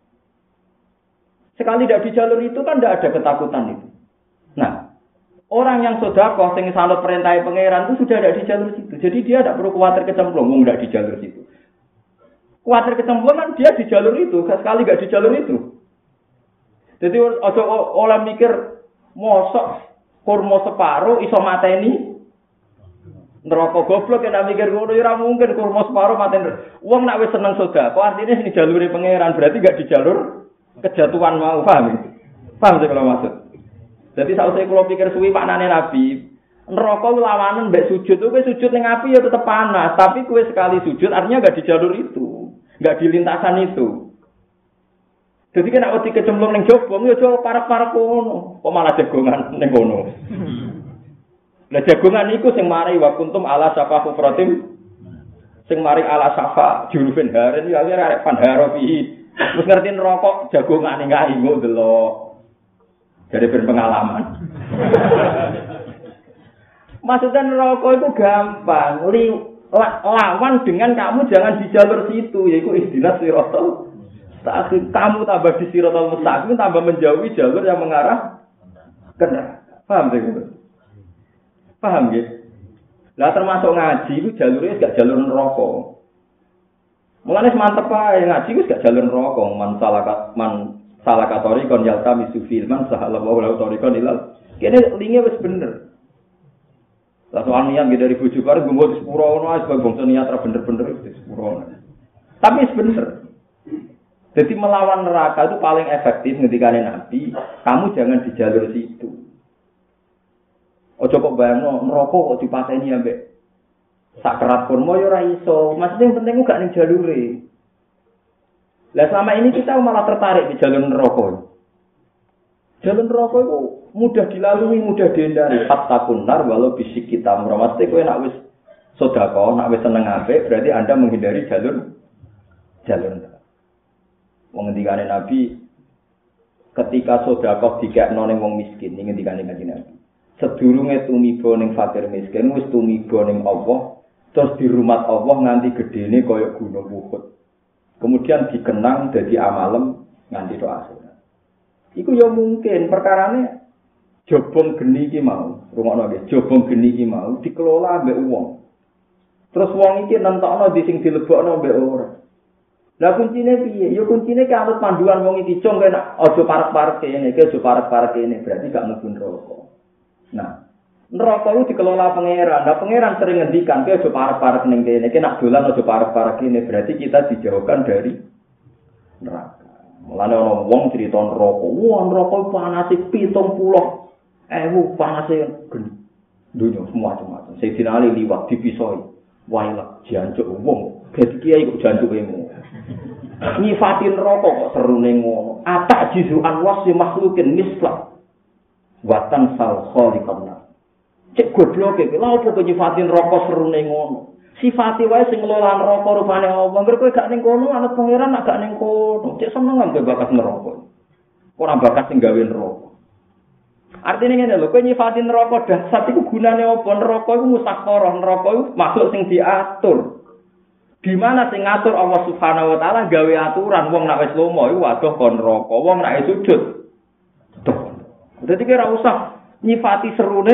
Speaker 2: Sekali tidak di jalur itu kan tidak ada ketakutan itu. Nah, orang yang sedekah sing sanut perintah pangeran itu sudah ada di jalur situ. Jadi dia tidak perlu khawatir kecemplung, tidak di jalur situ. Khawatir kecemplung kan dia di jalur itu, sekali tidak di jalur itu. Jadi ojo oleh mikir mosok kurma separo iso mateni neraka. Goblok nek mikir ngono ya ora mungkin kurma separo mateni. Wong nek wis seneng sedekah, artine sing jalure pangeran berarti gak di jalur kejatuhan mau, paham? Paham sih kalau maksud. Jadi sausé kula pikir suwi maknane Nabi, neraka lawanan mbek sujud. Kowe sujud ning api ya tetep panas, tapi kowe sekali sujud artinya gak di jalur itu, gak di lintasan itu. Jadi kena wedi kecemplung ning jobong ya aja parek-parek kono. Kok malah jagongan ning kono. Lah jagongan iku sing mari wa kuntum ala safa kufratim. Sing mari ala safa jurufin haren ya arek pandharo pihi. Terus ngerti rokok jagongane kae engko delok. Dari berpengalaman. Maksudnya rokok itu gampang. Lawan dengan kamu jangan di jalur situ, yaitu ihdinas siratal mustaqim. Kamu tambah di siratal mustaqim, tambah menjauhi jalur yang mengarah ke neraka. Paham sih? Paham ya? Lah termasuk ngaji itu jalurnya gak jalur neraka. Mulane mantep ae ngaji wis gak jalur neraka. Man salakatori kon yalta misufil man sahallahu lahu tariqan ilal. Kene linge wis bener. Lah soal niat dari bojo karo nggo sepuro ngono ae sebab bangsa niat ra bener-bener wis sepuro. Tapi wis bener. Jadi melawan neraka itu paling efektif ngendikane Nabi, kamu jangan di jalur situ. Ojo kok bayangno neraka kok dipateni ambek sak kerat kurma ya ora iso. Maksudnya yang penting gak ning jalure. Lah selama ini kita malah tertarik di jalur neraka. Jalur neraka itu mudah dilalui, mudah dihindari. Fatakun nar walau bisik kita mesti kowe nek wis sedekah, nek wis seneng apik, berarti Anda menghindari jalur neraka. Wong ngendikane Nabi ketika sedekah dikekno ning wong miskin, ngendikane Kanjeng Nabi. Sedurunge tumiba ning fakir miskin wis tumiba ning Allah, terus di rumah Allah nganti gedene kaya gunung Uhud. Kemudian dikenang dadi amalem nganti tok akhirat. Iku ya mungkin perkarane jobong geni iki mau, rungokno nggih, jobong geni iki mau dikelola mbek wong. Terus wong iki nentokno di sing dilebokno mbek ora. Lah kuncine piye? Ya kuncine ki anut panduan wong iki cung kena aja parek-parek kene, aja parek-parek kene, berarti gak mlebu neraka. Nah, neraka itu dikelola pangeran. Nah, pangeran sering ngendikan, "Kowe aja parek-parek ning kene, iki nak dolan aja parek-parek kene." Berarti kita dijauhkan dari neraka. Mulane ana wong crita neraka. Wah, neraka panase 70.000 panase geni. Dunya semua macam-macam. Sayyidina Ali liwat dipisoi. Wailah jancuk wong. Dadi kiai kok jancuke ngono. Nyifatin neraka kok serune ngono. Atak jizuan wasi makhlukin mislah. Watan sal khaliqan. Cek gobloke lha opo kok nyifatin neraka serune ngono. Sifate wae sing ngelola neraka rupane Allah. Ngger kowe gak ning kono anut pangeran gak ning kono. Cek seneng ambek bakat neraka. Ora bakat sing gawe neraka. Artinya ngene lho, kowe nyifatin neraka dasar iku gunane apa? Neraka iku musakharah, neraka iku makhluk sing diatur. Di mana sing ngatur Allah Subhanahu wa taala gawe aturan wong nek wis lomo iku waduh kon neraka, wong nek sujud. Tuh. Dadi kira usah nyifati serune.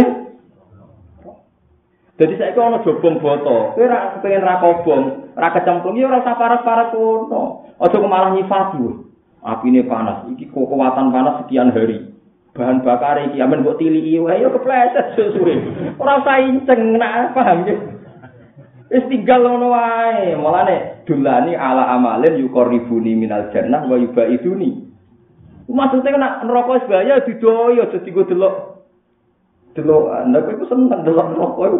Speaker 2: Dadi saiki ana jobong boto, kowe ora pengen ra kobong, ra kecemplung ya ora usah parek-parek kono. Aja malah nyifati. Apine panas, iki kekuatan panas sekian hari. Bahan bakar iki amen mbok tiliki wae ya kepleset suwe. Ora usah inceng nak paham ya. Wis tinggal ngono wae. Mulane dulani ala amalin yuqarribuni minal jannah wa yubaiduni. Maksudnya nek neraka wis bahaya didoyo aja dienggo delok. Delokan. Nek iku seneng delok neraka iku.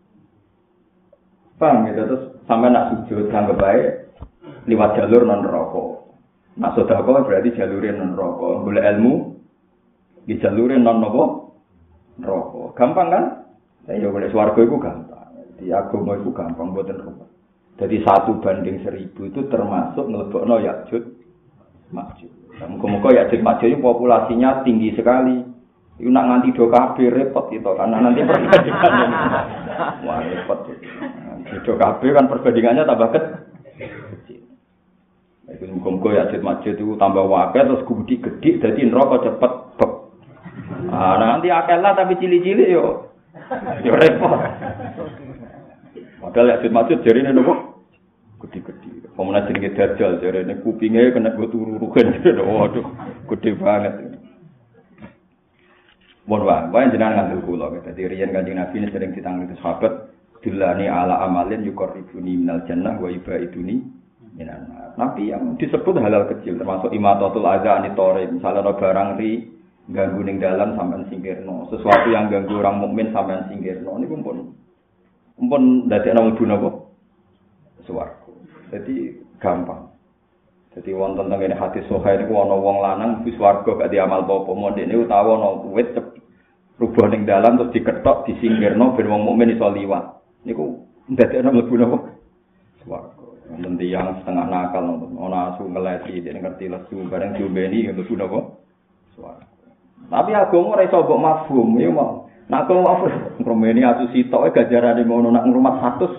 Speaker 2: Paham ya terus sampe nak sujud anggap bae liwat jalur non neraka. Maksud aku berarti jalure non neraka. Golek ilmu di jalure non nopo neraka. Gampang kan? Ya boleh swarga iku gampang. Di agama iku gampang mboten rumah. Jadi 1:1000 itu termasuk mlebokno Ya'juj Ma'juj. Muga-muga Ya'juj Ma'juj itu populasinya tinggi sekali. Iku nak nganti do kabeh repot itu karena nanti perbandingannya. Wah repot. Do kabeh kan perbandingannya tambah kecil. Iku muga-muga Ya'juj Ma'juj itu tambah akeh terus gede dadi neraka cepet beb. Ah, nanti akelah tapi cili-cili yo repot. Padahal Ya'juj Ma'juj jarine nopo? Gede-gede. Pemene jenenge Dajjal jarine kupinge kena go turu-turukan. Waduh, gede banget. Wae jenengan ngandel kula. Dadi riyen Kanjeng Nabi sering ditangani sahabat dilani ala amalin yuqarribuni minal jannah wa ibaiduni minan nar. Nabi yang disebut halal kecil termasuk imatatul adza anitore, misalnya ana barang ri ganggu ning dalan sampean singkirno, sesuatu yang ganggu orang mukmin sampean singkirno niku pun dadekno mlebu napa swarga. Jadi gampang. Jadi wonten teng kene hadis sahih niku ana wong lanang wis swarga gak diamal apa-apa, mondene utawa ana wit rubuh ning dalan terus diketok disingkirno ben wong mukmin iso liwat. Niku ndadekno mlebu napa? Swarga. Wonten tiyang setengah nakal ana asu ngeleti dene ngerti lesu bareng diombeni mlebu napa? Swarga. Tapi agama ora iso mbok mafhum, ya mau. Nek agama mafhum, ngromeni asu sitok gajarane ngono nak ngrumat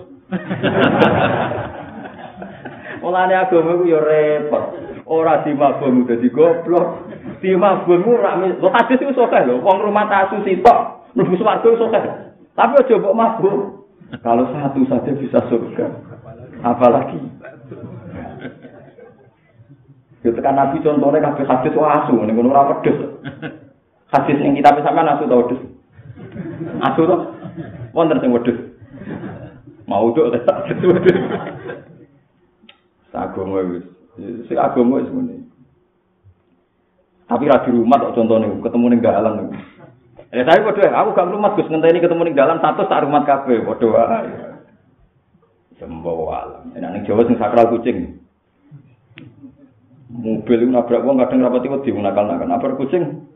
Speaker 2: 100. Mulane agama ku ya repot. Ora dimafhum dadi goblok. Dimafhum ora lho hadis iku sokeh lho, wong ngrumat asu sitok mlebu swarga sokeh. Tapi aja mbok mafhum. Kalau satu saja bisa surga, apalagi? Itu kan Nabi contohnya kabeh hadis asu, ning ngono ora wedhus. Hadis ning kitab sampean asu ta wedhus? Asu to? Wonten sing wedhus. Mau tok ta wedhus. Agama wis. Sing agama wis ngene. Tapi ra di rumah kok contone ketemu ning dalan niku. Tapi padha aku gak rumat Gus ngenteni ketemu ning dalan 100 tak rumat kabeh padha wae. Sembo alam. Enak ning Jawa sing sakral kucing. Mobil iku nabrak wong kadang rapati wedi nakal-nakal. Nabrak kucing.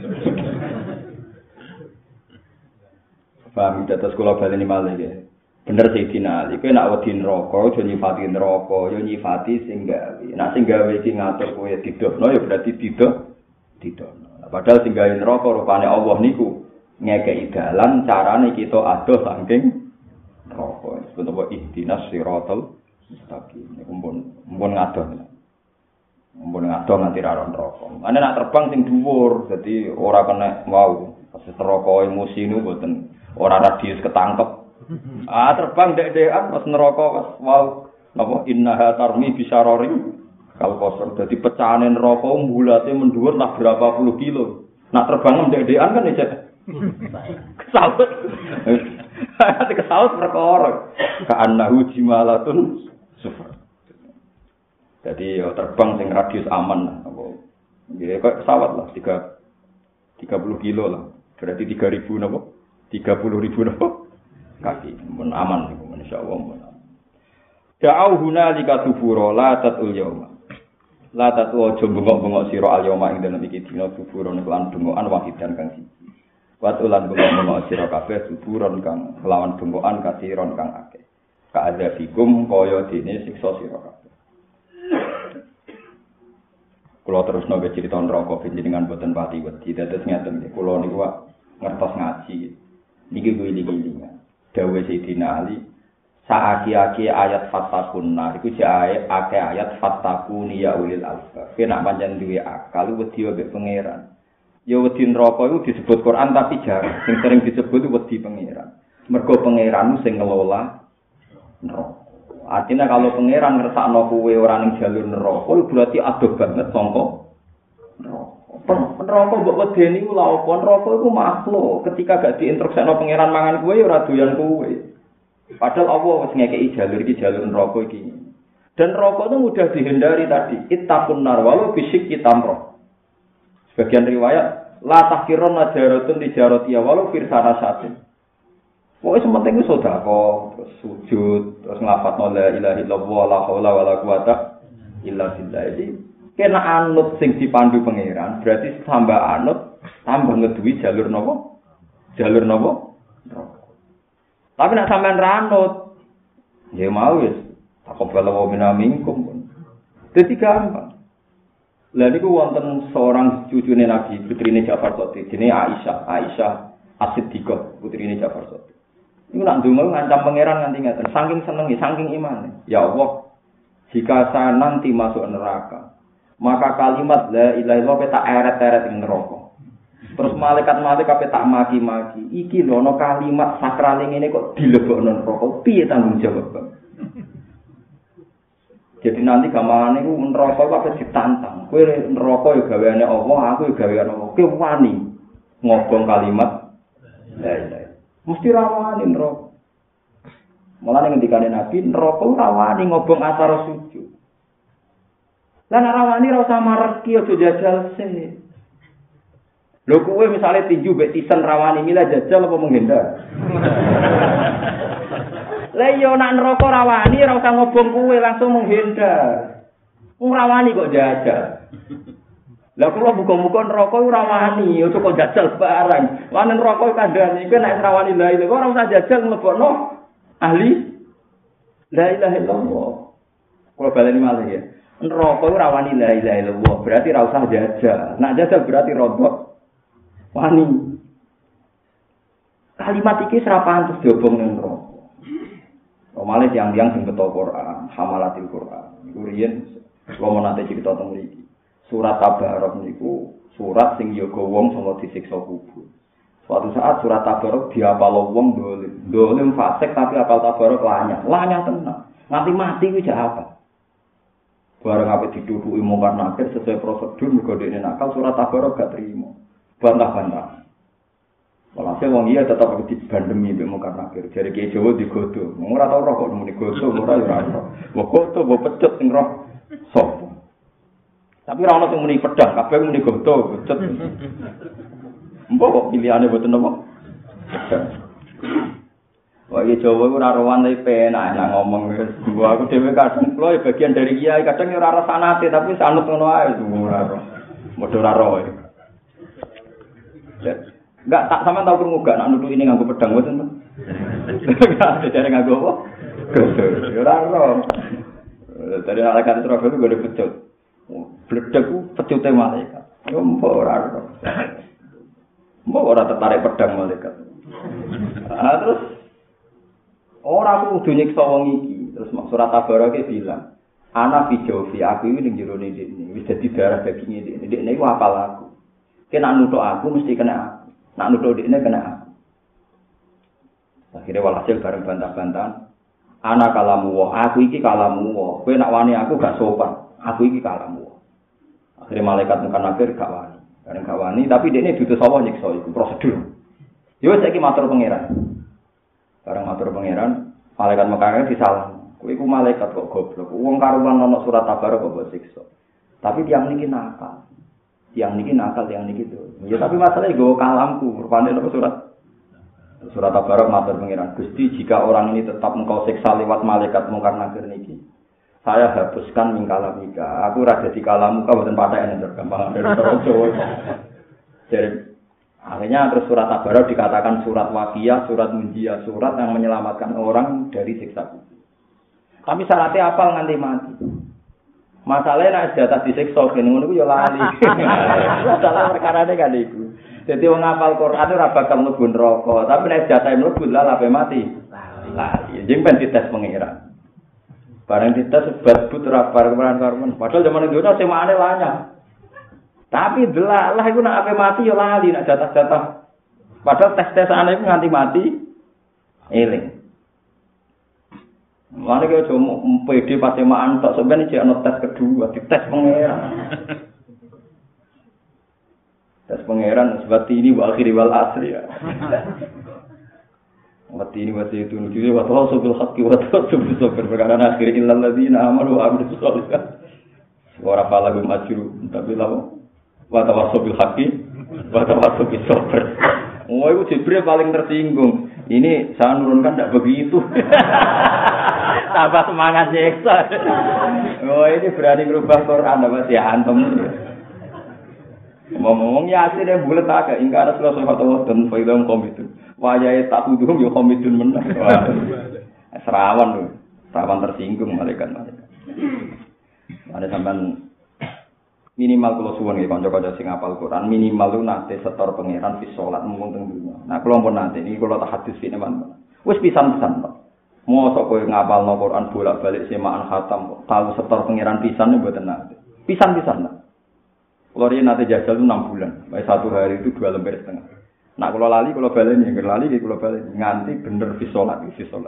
Speaker 2: Paham data sekolah baleni malih ya. Bener Sayyidina Ali, kowe nek wedi neraka aja nyifati neraka, ya nyifati sing gawe. Nek sing gawe iki ngatur kowe didohno ya berarti didohno. Padahal sing gawe neraka rupane Allah niku ngekeki dalan carane kita adoh saking neraka. Sebut apa ihdinas siratal mustaqim. Niku mumpun ngadoh. Mumpun ngadoh nganti ra neraka. Ane nak terbang sing dhuwur, dadi ora kena wau. Pas neraka emosi niku mboten ora radius ketangkep. Terbang dek-dekan pas neraka pas wau napa innaha tarmi bisyararin kal kosor dadi pecahane neraka mbulate mendhuwur lah berapa puluh kilo. Nak terbang dek-dekan kan ya kesaut. Ati kesaut perkara. Ka'annahu jimalatun sufar. Jadi terbang sing radius aman apa. Nggih kok pesawat lah 30 kilo lah. Berarti 3000 napa? 30.000 napa? Kaki mun aman niku insyaallah mun. Da'au hunalika tubura la tatul yauma. La tatu aja bengok-bengok sira al yauma ing dalem iki dina tubura niku lan bengokan wahidan kang siji. Watulan bengok-bengok sira kabeh tuburon kang kelawan bengokan kasiron kang akeh. Ka'adzabikum kaya dene siksa sira kabeh. Kula terus nang cerita neraka panjenengan boten pati wedi. Dados ngaten nggih kula niku ngertos ngaji. Niki guling-gulingan. Dawe Sayyidina Ali saaki-aki ayat fattakunna iku jae akeh ayat fattakuni ya ulil albab. Nek pancen duwe akal wedi mbek pangeran. Ya wedi neraka iku disebut Quran tapi jarang. Sing sering disebut wedi pangeran. Mergo pangeranmu sing ngelola neraka. Artinya kalau pangeran ngersakno kowe ora ning jalur neraka berarti adoh banget sangka neraka. Neraka mbok wedeni ku lha apa? Neraka iku makhluk. Ketika gak diinstruksekno pangeran mangan kowe ya ora doyan kowe. Padahal Allah wis ngekeki jalur iki jalur neraka iki. Dan neraka itu mudah dihindari tadi. Ittaqun nar walau bisyikki tamrah. Sebagian riwayat la tahkirun najaratun tijaratiya walau firsana satin. Pokoke sementing wis sedekah, terus sujud, terus nglafadzno la ilaha illallah la haula wala quwata illa billah. Kena anut sing dipandu pangeran, berarti tambah anut, tambah ngeduwi jalur napa? Jalur napa? Tapi nek sampean ranut, ya mau wis taqabbala minna minkum. Dadi gampang. Lah niku wonten seorang cucune Nabi, putrine Ja'far Shadiq, jenenge Aisyah As-Siddiqah, putrine Ja'far Shadiq. Niku nak ndonga ngancam pangeran nganti ngaten, saking senenge, saking imane. Ya Allah, jika saya nanti masuk neraka, maka kalimat la ilaha illallah tak eret-eret ing neraka. Terus malaikat-malaikat tak maki-maki. Iki lho ana kalimat sakral ngene kok dilebokno neraka. Piye tanggung jawab? Jadi nanti gamane iku neraka kok ditantang. Kowe neraka ya gaweane Allah, aku ya gaweane Allah. Kowe wani ngobong kalimat la ilaha. Mesti rawani neraka. Mulane ngendikane Nabi, neraka rawani ngobong asar sujud. Lah nek rawani ra usah mareki aja jajal sih. Lho kowe misale tinju mbek tisen rawani mila jajal apa menghindar? Lah yo nek neraka rawani ra usah ngobong kowe langsung menghindar. Wong rawani kok jajal. Lah kula muga-muga neraka ora rawani, aja kok jajal barang. Lan neraka kandhane iku nek rawani la ilaha ora usah jajal mlebokno ahli la ilaha illallah. Kula baleni malih ya. Neraka ora rawani la ilaha illallah, berarti ra usah jajal. Nek jajal berarti rodok wani. Kalimat iki serapan terus diobong ning neraka. Omale tiyang-tiyang sing beto Quran, hamalatil Quran. Iku riyen kula nate cerita teng mriki. Surat Tabarok niku surat sing yoga wong sanga disiksa kubur. Suatu saat surat Tabarok diapal wong dolim. Dolim fasik tapi apal Tabarok lanyah. Lanyah tenan. Nganti mati ku jak apa? Bareng ape dituduki mungkar nakir sesuai prosedur mergo dekne nakal surat Tabarok gak trimo. Bantah-bantah. Walhasil wong iya tetap dibandemi mbek mungkar nakir. Jare Ki Jawa digodho. Ora tau roh kok muni godho ora ya ora. Mbok godho mbok pecut sing roh sapa. Tapi ora ono sing muni pedang, kabeh muni godho, becet. Mbok kok pilihane mboten apa? Pedang. Wah, iki Jawa ora rowan tapi penak enak ngomong wis. Gua aku dhewe kadang kula bagian dari kiai, kadang ora ora sanate tapi sanut ngono ae ora ora. Modho ora ro. Enggak tak sama tau krungu gak nak nuduh ini nganggo pedang mboten. Enggak jare nganggo apa? Ora ro. Dari alasan Surabaya itu gak pecut. Bledek ku pecute malaikat. Yo mbok ora. Mbok ora tertarik pedang malaikat. Terus ora kudu nyiksa wong iki. Terus surat Tabarok bilang, ana fi jawfi aku iki ning jero ini wis dadi darah daging iki. Dekne iku apal aku. Kena nuthuk aku mesti kena aku. Nak nuthuk dekne kena aku. Akhirnya walhasil bareng bantah-bantahan. Ana kalamu wa, aku iki kalamu wa. Kowe nak wani aku gak sopan. Aku iki kalamu wa. Akhirnya malaikat mungkar nakir gak wani. Bareng gak wani tapi dekne diutus Allah nyiksa iku prosedur. Yo saiki matur pangeran. Bareng matur pangeran, malaikat mungkar nakir disalah. Kowe iku malaikat kok goblok. Wong karuan ana surat Tabarok kok mbok siksa. Tapi tiyang niki nakal. Tiyang niki nakal, tiyang niki tuh. Ya tapi masalahnya nggo kalamku, rupane ana surat Tabarok matur pangeran. Gusti, jika orang ini tetap engkau siksa lewat malaikat mungkar nakir niki, saya hapuskan mingkala mika. Aku ra dadi kalamu ka mboten patheken gampang dari Jawa. Jadi akhirnya terus surat Tabarok dikatakan surat waqiah, surat munjiah, surat yang menyelamatkan orang dari siksa kubur. Tapi syaratnya apal nganti mati. Masalahnya nek jatah disiksa kene ngono ku ya lali. Masalah perkarane kan iku. Dadi wong ngapal Quran ora bakal mlebu neraka, tapi nek jatah mlebu lah ape mati. Lali. Jeng ben dites pengiran. Barang dites sebut ora bareng-bareng. Padahal zaman itu semane lanyah. Tapi delalah iku nek ape mati ya lali nek jatah-jatah. Padahal tes-tesane iku nganti mati eling. Mane kok cuma PD patemaan tok sampeyan iki ana tes kedua, dites pangeran. Tes pangeran sebab ini wa akhiri wal asri ya. Wati ini wati itu nuju wa tawassul haqqi wa tawassul sabr perkara akhir illal ladzina amanu wa amilus sholihat. Ora palagum ajru tapi lawo wa tawassul haqqi wa tawassul sabr. Oh, itu Jibril paling tersinggung. Ini saya nurunkan tidak begitu. Tambah semangat nyeksa. Oh, ini berani merubah Quran, apa sih antum? Ngomong ya aslinya bulat agak. Ingkar Rasulullah SAW dan Faidam Komidun. Wajahnya tak tuduh, ya Komidun menang. Serawan loh. Serawan tersinggung malaikat-malaikat. Ada sampai minimal kalau suwun nggih kanca-kanca sing hafal Quran minimal lu nate setor pangeran fi salat mung teng dunya. Nah kula pun nate iki kula tak hadis iki teman. Wis pisan-pisan kok. Mosok kowe ngapalno Quran bolak-balik semaan khatam kok tahu setor pangeran pisan mboten nate. Pisan-pisan. Kula riyen nate jajal 6 bulan. Bae satu hari itu 2 lembar setengah. Nak kula lali kula baleni, lali kula baleni nganti bener fi salat.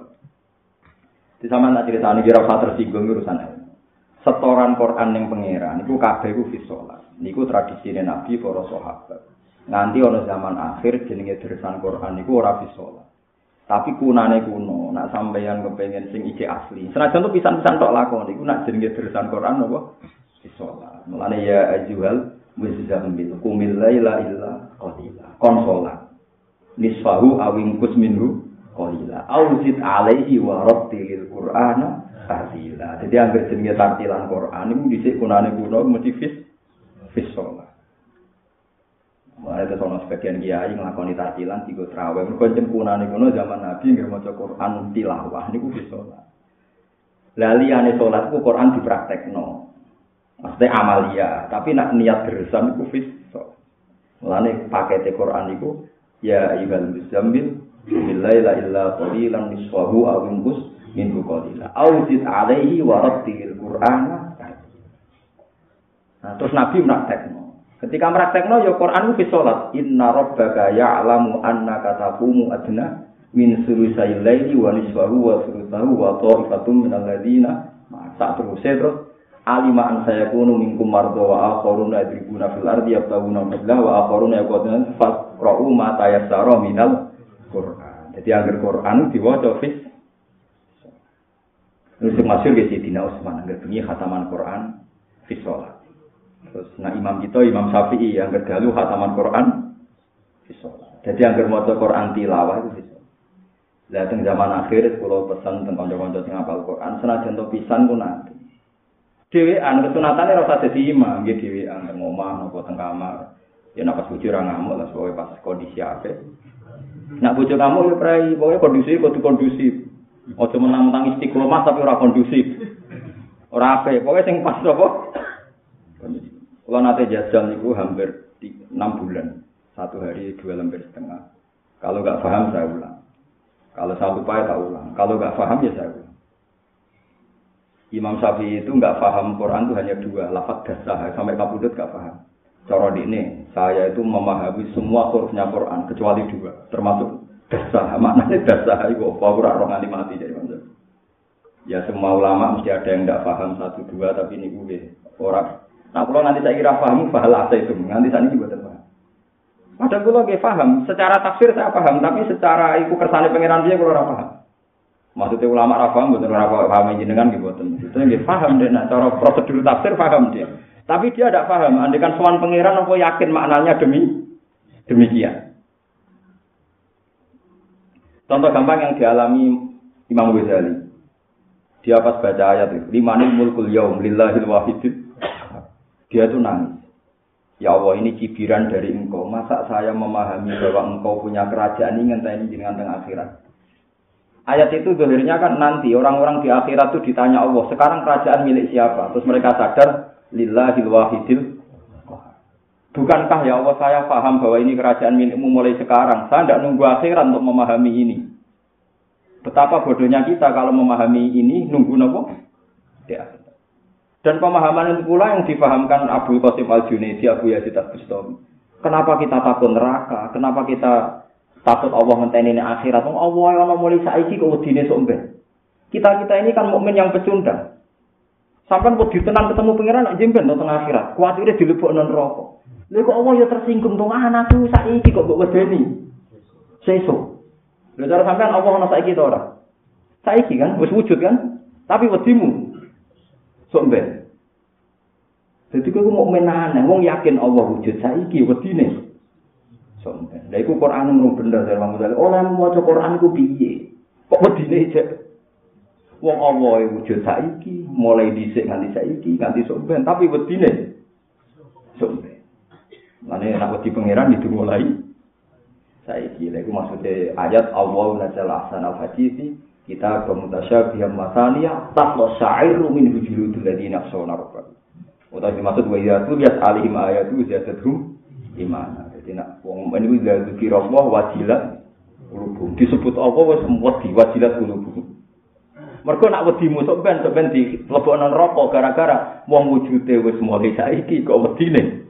Speaker 2: Di sama nak critani kira usah tersinggung urusan ae. Setoran Quran yang pangeran niku kabeh ku fi salat. Niku tradisine Nabi para sahabat. Nganti ana zaman akhir jenenge deresan Quran niku ora bisa salat. Tapi kunane kuno, nak sampeyan kepengin sing iki asli. Senajan to pisan-pisan tok lakon iku nak jenenge deresan Quran apa? Bisa salat. Mulane ya ajuhal muzammil qumil laila illa qalila. Kon salat. Nisfahu awingkus minhu qalila. Auzid alaihi wa rattilil Qur'ana tartila. Jadi anggere jenenge tartilan Quran iku dhisik kunane kuno mesti fis salat. Mulai itu soal sebagian kiai ngelakoni tartilan tiga terawih. Mereka cempunane kuno zaman Nabi nggak mau Quran tilawah niku bisa sholat. Laliane sholat ku Quran dipraktekno. Maksudnya amalia, tapi nak niat deresan niku bisa. Mulane pakete Quran niku ya ayyuhal muzammil billaila illa qalilan nisfahu aw inqus minhu qalila. Auzid alaihi wa rattilil Qur'ana. Nah, terus Nabi praktekno. Ketika meraktekno ya Quran ku salat. Inna rabbaka ya'lamu annaka taqumu adna min sulusai laili wa nisfahu wa thuluthahu wa ta'ifatun minal ladzina ma'a terus alima an sayakunu minkum marda wa akharuna yadribuna fil ardi yabtaguna fadla wa akharuna yaquluna faqra'u ma tayassara minal Quran. Jadi agar Quran diwaca fis. Terus masyhur ge Sidina Utsman agar bunyi khataman Quran fis salat. Terus nah imam kita Imam Syafi'i yang kedalu khataman Quran bisa. Jadi yang maca Quran tilawah itu bisa. Lah teng zaman akhir kula pesan teng kanca-kanca sing hafal Quran senajan to pisan ku nanti. Dhewean kesunatane ora usah dadi imam, nggih dhewean teng omah napa teng kamar. Ya nek pas bojo ora ngamuk lah soalé pas kondisi apik. Nek bojo ngamuk ya prai, pokoke kudu kondusif. Aja menang-menang istiqomah tapi ora kondusif. Ora apik, pokoke sing pas apa? Kalau nanti jajal niku hampir 6 bulan, 1 hari 2 lembar setengah. Kalau nggak paham saya ulang. Kalau saya lupa ya tak ulang. Kalau nggak paham ya saya ulang. Imam Syafi'i itu nggak paham Quran itu hanya 2, lafaz dasar sampai kabudut nggak paham. Cara ini saya itu memahami semua hurufnya Quran kecuali 2, termasuk dasar. Maknanya dasar itu apa? Ora roh nganti mati jadi macam. Ya semua ulama mesti ada yang nggak paham 1, 2 tapi ini gue orang. Nah, kalau nanti saya kira paham, bahalah saya itu. Nanti saya ini buatan paham. Padahal kalau nggak paham, secara tafsir saya paham, tapi secara itu kersane pengiran dia kalau nggak paham. Maksudnya ulama paham, betul nggak paham jenengan gitu buatan. Itu nggak paham deh. Nah, cara prosedur tafsir paham dia. Tapi dia tidak paham. Andikan soal pengiran, aku yakin maknanya demikian. Contoh gampang yang dialami Imam Ghazali. Dia pas baca ayat itu, limanil mulkul yaum lillahil wahidil. Dia itu nangis. Ya Allah, ini cibiran dari engkau. Masa saya memahami bahwa engkau punya kerajaan ini ngenteni jenengan teng akhirat. Ayat itu zahirnya kan nanti orang-orang di akhirat itu ditanya Allah, sekarang kerajaan milik siapa? Terus mereka sadar lillahil wahidil. Bukankah ya Allah saya paham bahwa ini kerajaan milikmu mulai sekarang. Saya tidak nunggu akhirat untuk memahami ini. Betapa bodohnya kita kalau memahami ini nunggu nopo? Ya. Dan pemahaman itu pula yang dipahamkan Abu Qasim Al-Junaidi, Abu Yazid Al-Bustami. Kenapa kita takut neraka? Kenapa kita takut Allah ngenteni akhirat? Allah yang mulai saiki kok wedine sok mben. Kita ini kan mukmin yang pecundang. Sampai wedi tenan ketemu pangeran nak jemben teng akhirat. Kuwatire dilebokno neraka. Lha kok Allah ya tersinggung to anakku saiki kok mbok wedeni. Sesuk. Lha cara sampean Allah ana saiki to ora? Saiki kan wis wujud kan? Tapi wedimu sok mben. Jadi kowe mau menanam, wong yakin Allah wujud saiki wedine. Sok mben. Lha iku Quran mung bener dari Imam Ghazali. Ora maca Quran iku piye? Kok wedine cek? Wong Allah wujud saiki, mulai dhisik nganti saiki, nganti sok mben, tapi wedine sok mben. Mane nek wedi pangeran itu mulai saiki. Lha iku maksude ayat Allah nazal ahsanal hadisi kita bermutasyabiham masaniya taqla sa'iru min hujuludul ladina khashawna rabbahum. Utawa dimaksud wa ya tu yas alihim ayatu ziyadatuhum imana. Jadi nak wong niku zikir Allah wajilat qulubuhum. Disebut apa wis wedi wajilat qulubuhum. Mergo nak wedimu sok ben dilebokno neraka gara-gara wong wujude wis mulai saiki kok wedine.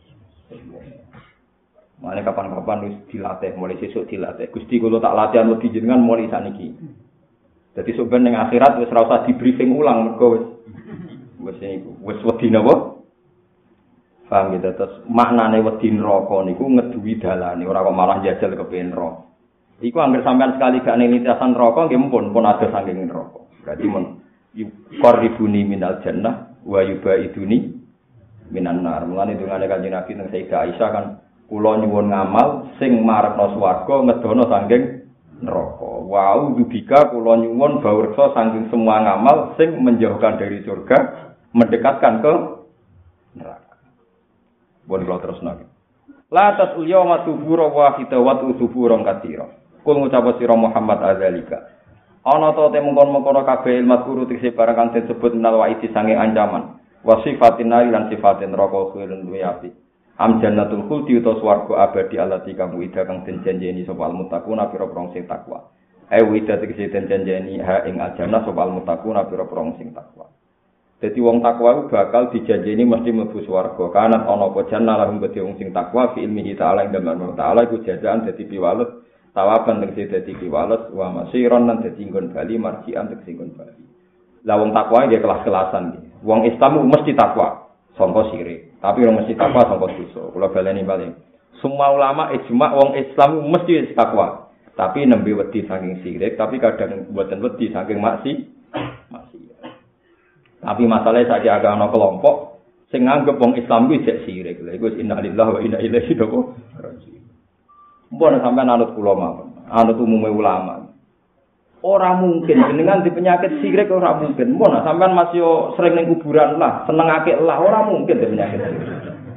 Speaker 2: Mane kapan-kapan wis dilatih, mulai sesuk dilatih. Gusti kula tak latihan wedi jenengan mulai saniki. Jadi sebenarnya ning akhirat wis ora usah di briefing ulang mergo wis wedi napa? Paham gitu. Terus maknane wedi neraka niku ngeduwi dalane, ora kok malah jajal kepengin neraka. Iku anggere sampean sekali gak ning lintasan neraka nggih pun ada saking neraka. Berarti mun yuqarribuni minal jannah wa yubaiduni minan nar. Mulane dungane Kanjeng Nabi teng Sayyidah Aisyah kan kula nyuwun ngamal sing marepno swarga ngedono saking neraka. Wau dubika kula nyuwun bawreksa saking semua ngamal sing menjauhkan dari surga, mendekatkan ke neraka. Bon kula terusno. La tasul yawma tubura wahida wa tusuburon katira. Kul ngucap sira Muhammad azalika. Ana ta te mungkon-mungkon kabeh ilmu guru tekse barang kang disebut minal waidi sange ancaman. Wa sifatin nari lan sifatin neraka khulun duwe api. Am jannatul khuldi utawa swarga abadi allati kamu ida kang den janjeni sapa almuttaquna pira-pira sing takwa. Wida tegese den janjeni ha ing aljannah sapa almuttaquna pira-pira sing takwa. Dadi wong takwa iku bakal dijanjeni mesti mlebu swarga. Kanat ana apa jannah lahum kedhe wong sing takwa fi ilmihi ta'ala ing dalem ta'ala iku jazaan dadi piwales tawaban tegese dadi piwales wa masiron lan dadi nggon bali marjian tegese nggon bali. Lah wong takwa nggih kelas-kelasan iki. Wong Islam mesti takwa sangka sirik, tapi ora mesti takwa sangka dosa. Kula baleni bali. Semua ulama ijma wong Islam mesti takwa, tapi nembe wedi saking sirik, tapi kadang mboten wedi saking maksiat. Tapi masalahnya saiki agak ana kelompok sing nganggep wong Islam kuwi jek sirik. Lha iku innalillahi wa inna ilaihi raji'un. Mbon sampean anut kula mawon, anut umume ulama. Ora mungkin jenengan di penyakit sirik ora mungkin. Mbon sampean masih sering ning kuburan lah, senengake lah ora mungkin di penyakit sirik.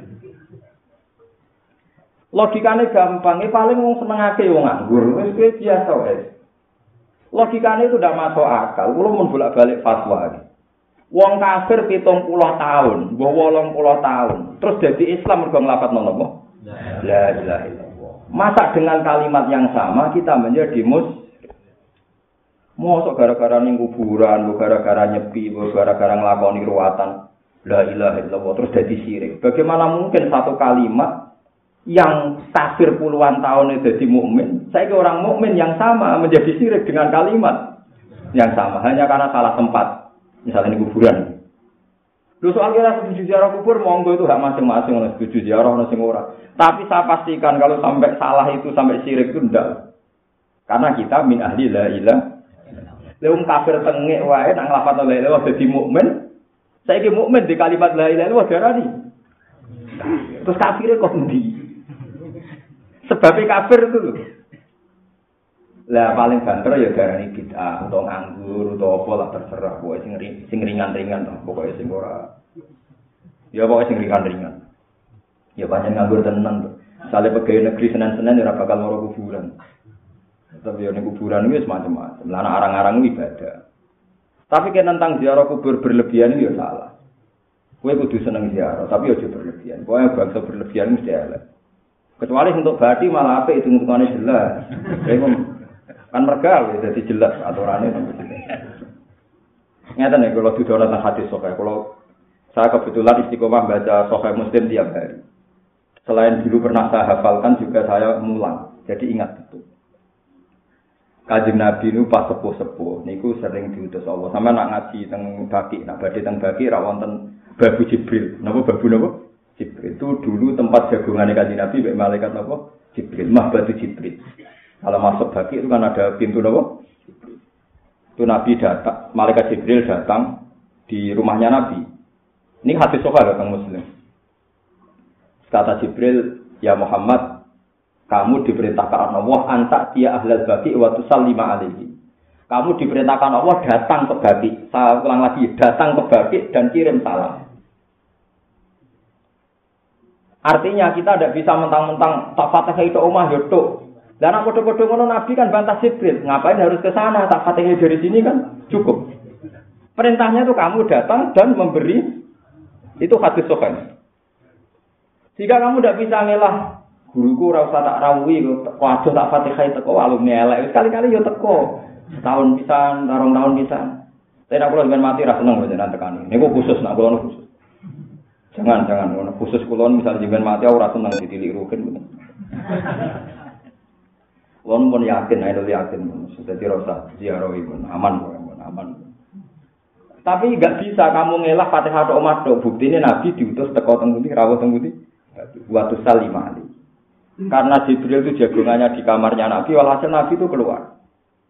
Speaker 2: Logikane gampang, paling wong senengake wong nganggur, wis kuwi biasa wae. Logikane itu ndak masuk akal. Kulo mun bolak-balik fatwa. Wong kafir 70 tahun, mbah 80 tahun, terus dadi Islam mergo nglafadzno napa? La ilaha illallah. Masa dengan kalimat yang sama kita menjadi mosok gara-gara ning kuburan, gara-gara nyepi, gara-gara nglakoni ruwatan la ilaha illallah terus dadi syirik. Bagaimana mungkin satu kalimat yang kafir puluhan tahun jadi mukmin, saiki orang mukmin yang sama menjadi syirik dengan kalimat yang sama hanya karena salah tempat. Misalnya di kuburan. Lu soal kira setuju ziarah kubur, monggo itu hak masing-masing, orang setuju ziarah, orang sing ora. Tapi saya pastikan kalau sampai salah itu sampai syirik itu ndak. Karena kita min ahli la ilaha. Leung kafir tengek wae nang lafadz la ilaha dadi mukmin. Saiki mukmin di kalimat la ilaha illallah darani. Terus kafire kok endi? Sebabnya kafir itu lho. Lah paling banter ya darani bid'ah utawa nganggur utawa apa lah terserah pokoke sing ringan-ringan to pokoke sing ora ya pokoke sing ringan-ringan ya pancen nganggur tenan to sale pegawai negeri Senin-Senin ora bakal loro kuburan tapi yo ning kuburan iki macam-macam lan arang-arang ibadah tapi kan tentang ziarah kubur berlebihan itu ya salah kowe kudu seneng ziarah tapi aja berlebihan pokoke bangsa berlebihan mesti elek kecuali untuk bati malah apik hitung-hitungane jelas kan mergal ya jadi jelas aturannya ngeten ya kalau didono tentang hadis sahih kalau saya kebetulan istiqomah baca sahih Muslim tiap hari selain dulu pernah saya hafalkan juga saya mulang jadi ingat betul Kanjeng Nabi itu pas sepuh-sepuh niku sering diutus Allah sampe nak ngaji teng Baqi nak badhe teng Baqi ra wonten babu Jibril napa babu napa Jibril itu dulu tempat jagungane Kanjeng Nabi mek malaikat napa Jibril mah batu Jibril. Kalau masuk Baqi itu kan ada pintu apa? Itu Nabi datang, malaikat Jibril datang di rumahnya Nabi. Ini hadis sahih datang Muslim. Kata Jibril, "Ya Muhammad, kamu diperintahkan Allah antak dia ahlal Baqi wa tusallima alaihi." Kamu diperintahkan Allah datang ke Baqi. Saya ulang lagi, datang ke Baqi dan kirim salam. Artinya kita tidak bisa mentang-mentang tak Fatihah itu omah yotok. Dan aku podo-podo ngono Nabi kan bantah Jibril, ngapain harus ke sana? Tak Fatihah dari sini kan cukup. Perintahnya itu kamu datang dan memberi itu hadis sahih. Jika kamu tidak bisa ngelah guruku ora usah tak rawuhi kok waduh tak Fatihah teko alumni elek sekali-kali yo teko. Tahun pisan, tarung tahun pisan. Saya nak kula dengan mati ra seneng jenengan tekani. Niku khusus nak kula khusus. Jangan ngono khusus kula misal jenengan mati ora seneng ditilik rugen. Wong pun yakin, idol yakin, sudah dirasa ziarah ibu, aman. Tapi enggak bisa kamu ngelak Fatihah tok omah tok. Buktine Nabi diutus teko teng pundi, rawuh teng pundi? Waktu salimali. Karena Jibril itu jagongannya di kamarnya Nabi, walhasil Nabi itu keluar.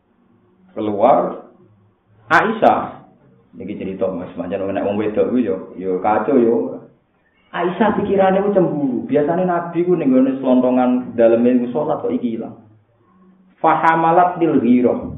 Speaker 2: Keluar Aisyah. Niki cerita Mas, pancen nek wong wedok ku yo kacau yo. Aisyah pikirane ku cemburu. Biasane Nabi ku ning gone slontongan daleme ku salat kok iki ilang. Fahamalat lil ghirah.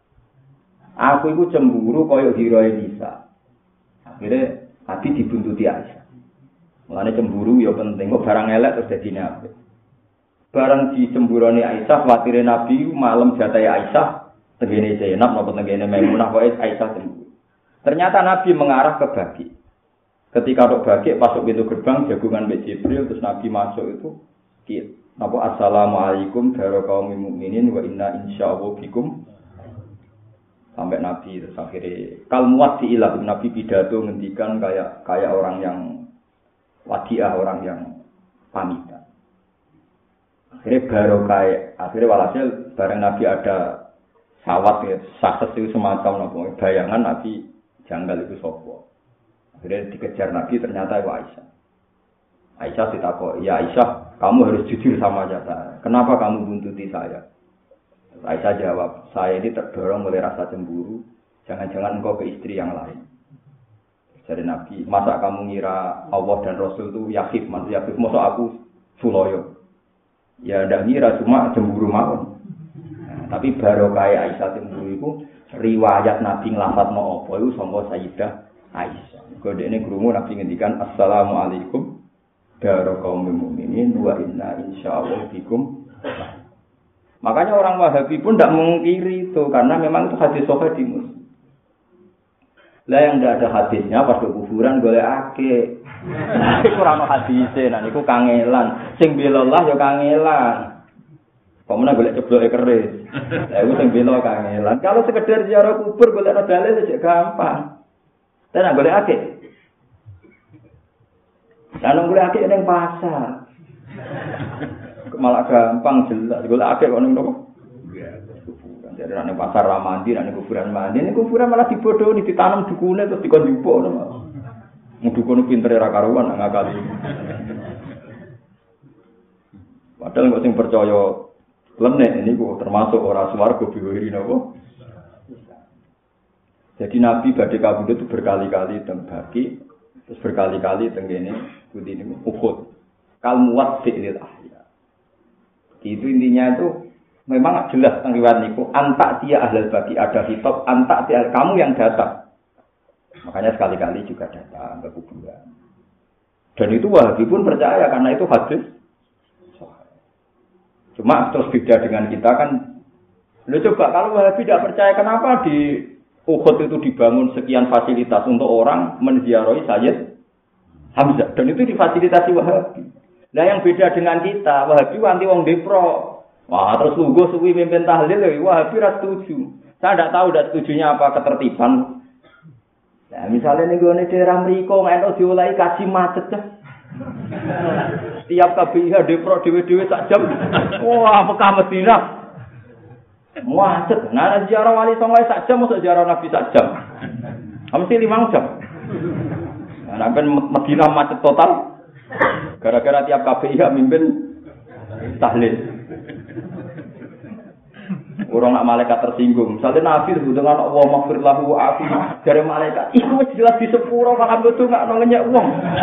Speaker 2: Aku iku cemburu kaya ghirahe Nisa. Akhire Nabi dibuntuti Aisyah. Mulane cemburu ya penting, kok barang elek terus dadi apik. Barang dicemburoni Aisyah, watire Nabi malam jatahe Aisyah, tengene Zainab napa tengene Maimunah kok Aisyah cemburu. Ternyata Nabi mengarah ke Baqi. Ketika tok Baqi masuk pintu gerbang jagungan Mbak Jibril terus Nabi masuk itu napa assalamualaikum para kaum mukminin wa inna insyaallah bikum sampai Nabi terus akhirnya kalmuat diilah Nabi pidato ngendikan kayak orang yang wadiah, orang yang pamitan. Akhirnya akhirnya walhasil bareng Nabi ada sawat ya, sukses itu semacam nopo bayangan Nabi janggal itu sopo. Akhirnya dikejar Nabi ternyata itu Aisyah. Aisyah ditakoi, ya Aisyah, kamu harus jujur sama saya. Kenapa kamu buntuti saya? Aisyah jawab, saya ini terdorong oleh rasa cemburu. Jangan-jangan engkau ke istri yang lain. Jadi Nabi, masa kamu ngira Allah dan Rasul itu yakhif, maksud yakhif, masa aku suloyo? Ya ndak ngira, cuma cemburu mawon. Nah, tapi baru kayak Aisyah cemburu itu, riwayat Nabi ngelafadzno apa itu sangka Sayyidah Aisyah. Kode ini krungu Nabi ngendikan assalamualaikum daro kaum mukminin wa inna insyaallah bikum. Makanya orang Wahabi pun tidak mengkiri itu karena memang itu hadis sahih di Muslim. Lah yang tidak ada hadisnya pas ke kuburan golekake. Iku ora ono hadise, nah niku kangelan. Sing bela Allah ya kangelan. Pemene golek cebloke keris. Lah iku sing bela kangelan. Kalau sekedar ziarah kubur golek dalil aja gampang. Tenan golekake. Lah golekake ning pasar. Malah gampang jelas. Golekake kok ning nopo? Jadi nek pasar ra mandi, nek kuburan mandi, nek kuburan malah dibodohi, ditanam dukune terus dikon jupuk ngono. Dukune pintere ra karuan ngakali. Padahal kok sing percaya lenek niku termasuk ora swarga biwiri napa. Jadi Nabi badhe kabudut itu berkali-kali teng Baqi, terus berkali-kali teng kene pundi niku Uhud. Kal muwaddi lil ahya. Itu intinya itu memang jelas tentang riwayat niku antak dia ahlul Baqi ada hitop antak dia kamu yang datang. Makanya sekali-kali juga datang ke kuburan. Dan itu Wahabi pun percaya karena itu hadis. Cuma terus beda dengan kita kan. Lu coba kalau Wahabi tidak percaya kenapa di Uhud itu dibangun sekian fasilitas untuk orang menziarahi Sayyid Hamzah dan itu difasilitasi Wahabi. Nah yang beda dengan kita, Wahabi anti wong depro. Wah, terus lugu suwi mimpin tahlil, Wahabi ra setuju. Saya tidak tahu setujunya apa ketertiban. Nah, misalnya nih gue daerah Mriko nggak diulai kasih macet dah. Tiap KBIH depro dewe-dewe sak jam. Wah, Mekah Madinah. Macet. Nah, ziarah Wali Songo sak jam, masuk ziarah Nabi sak jam. Mesti 5 jam. Nah, sampai Madinah macet total. Gara-gara tiap KBIH mimpin tahlil. Orang nak malaikat tersinggung. Misalnya Nabi dengan Allah maghfir lahu wa'afi dari malaikat. Iku wis jelas di sepuro malah betul enggak ngenyek wong.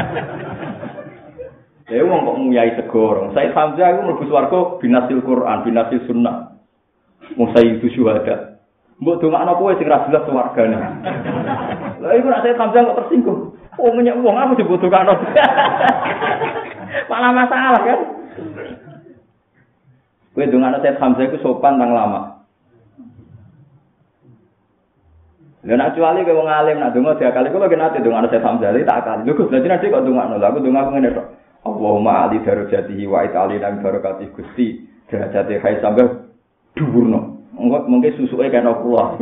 Speaker 2: Ya wong kok nguyai segoro. Said Hamzah iku mlebu swarga binasil Quran, binasil sunnah. Musayyidu syuhada. Mbok dongakno kowe sing ra jelas swargane. Lah iku nek Said Hamzah kok tersinggung. Oh ngenyek wong aku dibutuhkan. Malah masalah kan. Kowe dongakno Said Hamzah iku sopan nang lama. Lha nek kecuali kowe wong alim nak donga diakali kula gen ate dongakno Said Hamzah tak akali. Lho Gus, dadi nek kok dongakno lha aku donga ngene tok. Allahumma ali darajatihi wa itali lan barakati Gusti. Derajate hai sampe dhuwurno. Mungkin susuke kena kula.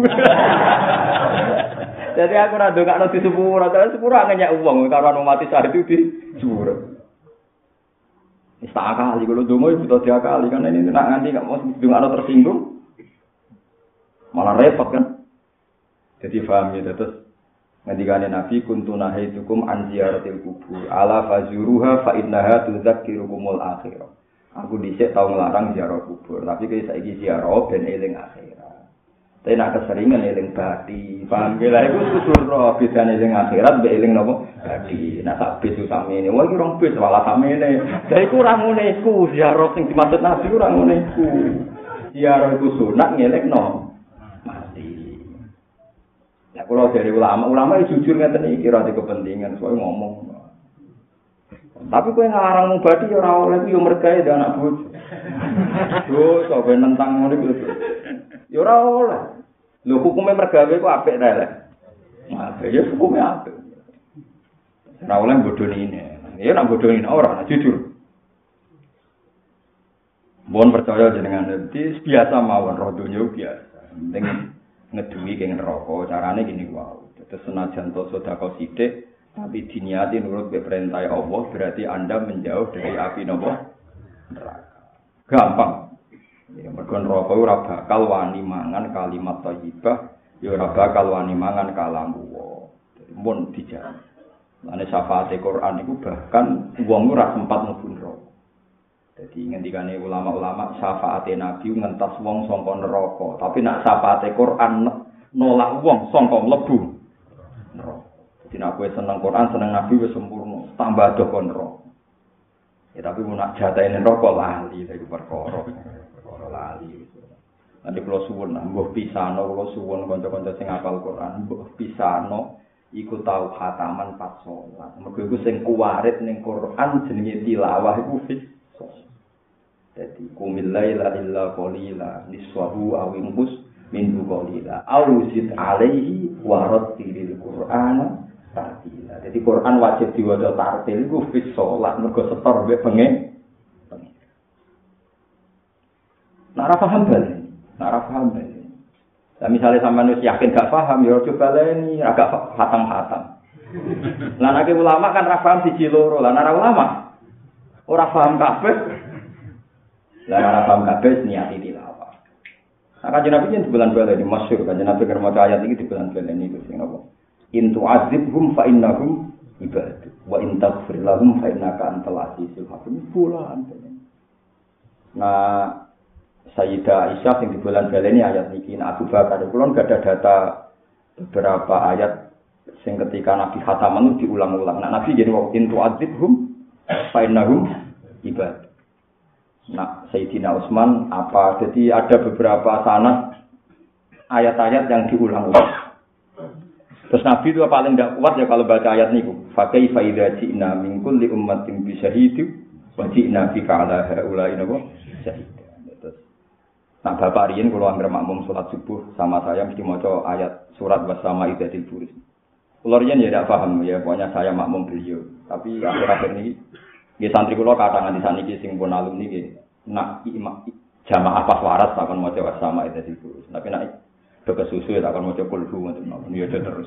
Speaker 2: Jadi aku ora ndongakno di sepuro, terus sepuro ngenyek wong karo mati saat itu di sepuro. Wis tak akali kalau donga iku butuh diakali karena ini nak nganti gak mau ndongakno tersinggung. Malah repot kan. Jadi paham ya terus Ngendikane Nabi kuntu nahaitukum an ziyaratil kubur ala fazuruha fa innaha tudzakkirukumul akhirah. Aku dhisik tau nglarang ziarah kubur, tapi kaya saiki ziarah ben eling akhirat. Tapi nek keseringan eling bathi, paham ge lha iku susur bedane eling akhirat mbek eling napa? Bathi. Nah sak besu samene, wah iki rong bes malah samene. Lah iku ora ngene iku, ziarah sing dimaksud Nabi ora ngene iku. Ziarah iku sunat ngelekno mati. Ya kalau dari ulama itu jujur ngeten iki ora kepentingan, soalnya ngomong. Tapi kowe ngarang mubadi ya ora oleh yo mergawe dan anak bojo. Yo sampe nentang ngono iku. Ya ora oleh. Lho hukume mergawe ku apik ta lek. Apik ya hukume apik. Ora oleh bodoni ini. Ya nek bodoni ora jujur. Mohon percaya jenengan dadi biasa mawon roh donya biasa. Penting ngeduwi keng neraka carane gini wae. Terus senajan to sedekah sithik tapi diniati nurut perintah Allah berarti Anda menjauh dari api neraka. Gampang. Ya mergo neraka ora bakal wani mangan kalimat thayyibah, ya ora bakal wani mangan kalam Allah. Mun dijamin. Lane syafaate Quran iku bahkan wong ora sempat mlebu neraka. Jadi ngendikane ulama-ulama syafaate Nabi ngentas wong saka neraka, tapi nek syafaate Quran nolak wong saka mlebu neraka. Jadi nek kowe seneng Quran, seneng Nabi wis sempurna, tambah do kon neraka. Ya tapi mun nak jatahe neraka lali iku perkara lali. Nanti kula suwun mbuh pisano kula suwun kanca-kanca sing hafal Quran, mbuh pisano iku tau khataman pas salat. Mergo iku sing kuwarit ning Quran jenenge tilawah iku fis. Jadi kumil laila illa qalila niswahu aw inqus minhu qalila aw zid alaihi wa rattilil qur'ana tartila. Jadi Quran wajib diwaca tartil iku fis salat mergo setor mbek bengi. Nek ora paham bali. Lah misale sampean wis yakin gak paham ya coba baleni agak hatam-hatam. Lah nek ulama kan ra paham siji loro. Lah nek ulama ora paham kabeh. Lah ora paham kabeh niati tilawah. Nah kanjeng Nabi yen bulan baleni masyhur kanjeng Nabi keur maca ayat iki di bulan baleni iku sing apa? In tu'adzibhum fa innahum ibad wa in taghfir lahum fa innaka antal azizul hakim. Bulan. Nah Sayyidah Aisyah yang di bulan baleni ayat niki Abu Bakar kula enggak ada data beberapa ayat sing ketika Nabi khataman diulang-ulang. Nah Nabi jadi wa in tu'adzibhum fa innahum ibad. Nah, Sayyidina Utsman apa? Jadi ada beberapa sanad ayat-ayat yang diulang-ulang. Terus Nabi itu paling tidak kuat ya kalau baca ayat niku. Fa kaifa idza ji'na min kulli ummatin bi syahidin wa ji'na bika 'ala haula'i syahid. Terus nah Bapak riyen kula anggere makmum salat subuh sama saya mesti maca ayat surat wasama idzatil buris. Kula riyen ya tidak paham ya, pokoknya saya makmum beliau. Tapi akhir-akhir ini nggih santri kula kathah nganti saniki sing pun alumni nggih nak jamaah pas waras takon maca wasama idzatil buris. Tapi nak kesusu ya takon maca kulhu ngoten ya terus.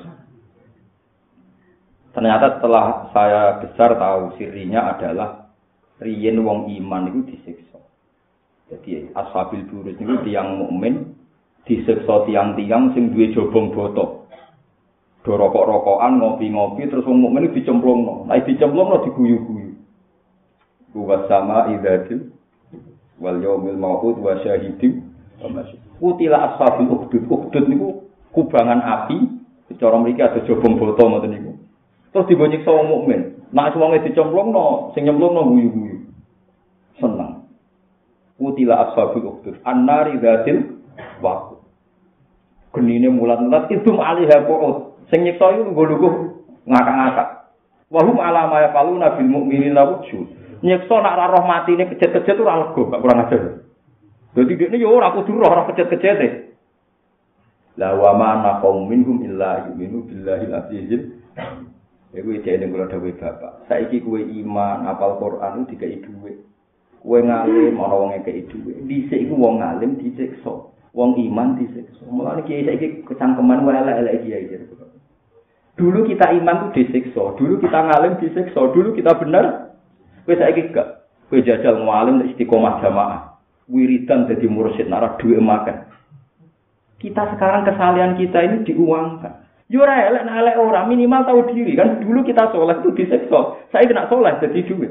Speaker 2: Ternyata setelah saya besar tahu sirinya adalah riyen wong iman itu disiksa. Jadi ashabil burus niku tiyang mukmin disiksa tiyang-tiyang sing duwe jobong botok. Do rokok-rokokan, ngopi-ngopi terus wong mukmin dicemplungno. Nek dicemplungno diguyu-guyu. Wa sama idzatil wal yaumil mau'ud wa syahidin wa masyhud. Kutila ashabil ukhdud. Ukhdud niku kubangan api, cara mriki ada jobong botok ngoten niku. Terus dibonyeksa wong mukmin. Nek wonge dicemplungno, sing nyemplungno guyu-guyu. Seneng. Kutila ashabul ukhdud annari dzatil waqud. Genine mulat-mulat idum alaiha qu'ud. Sing nyiksa iku nggo ngakak-ngakak. Wa hum ala ma yaquluna bil mu'minina wujud. Nyiksa nak ora roh matine kejet-kejet ora lega, gak kurang ajar. Dadi dekne yo ora kudu roh kejet-kejete. La wa ma naqum minhum illa yu'minu billahi al-azizil. Iku jeneng kula dawuh Bapak. Saiki kowe iman, hafal Quran dikai dhuwit. Kowe ngalim ana wong ngekeki dhuwit. Dhisik iku wong ngalim disiksa, wong iman disiksa. Mulane kiai saiki kecangkeman wae elek-elek kiai. Dulu kita iman itu disiksa, dulu kita ngalim disiksa, dulu kita benar. Kowe saiki gak. Kowe jajal ngalim istiqomah jamaah. Wiridan dadi mursyid nara dhuwit makan. Kita sekarang kesalahan kita ini diuangkan. Yo ora elek nek elek ora, minimal tahu diri kan. Dulu kita soleh itu disiksa. Saya kena soleh jadi duit.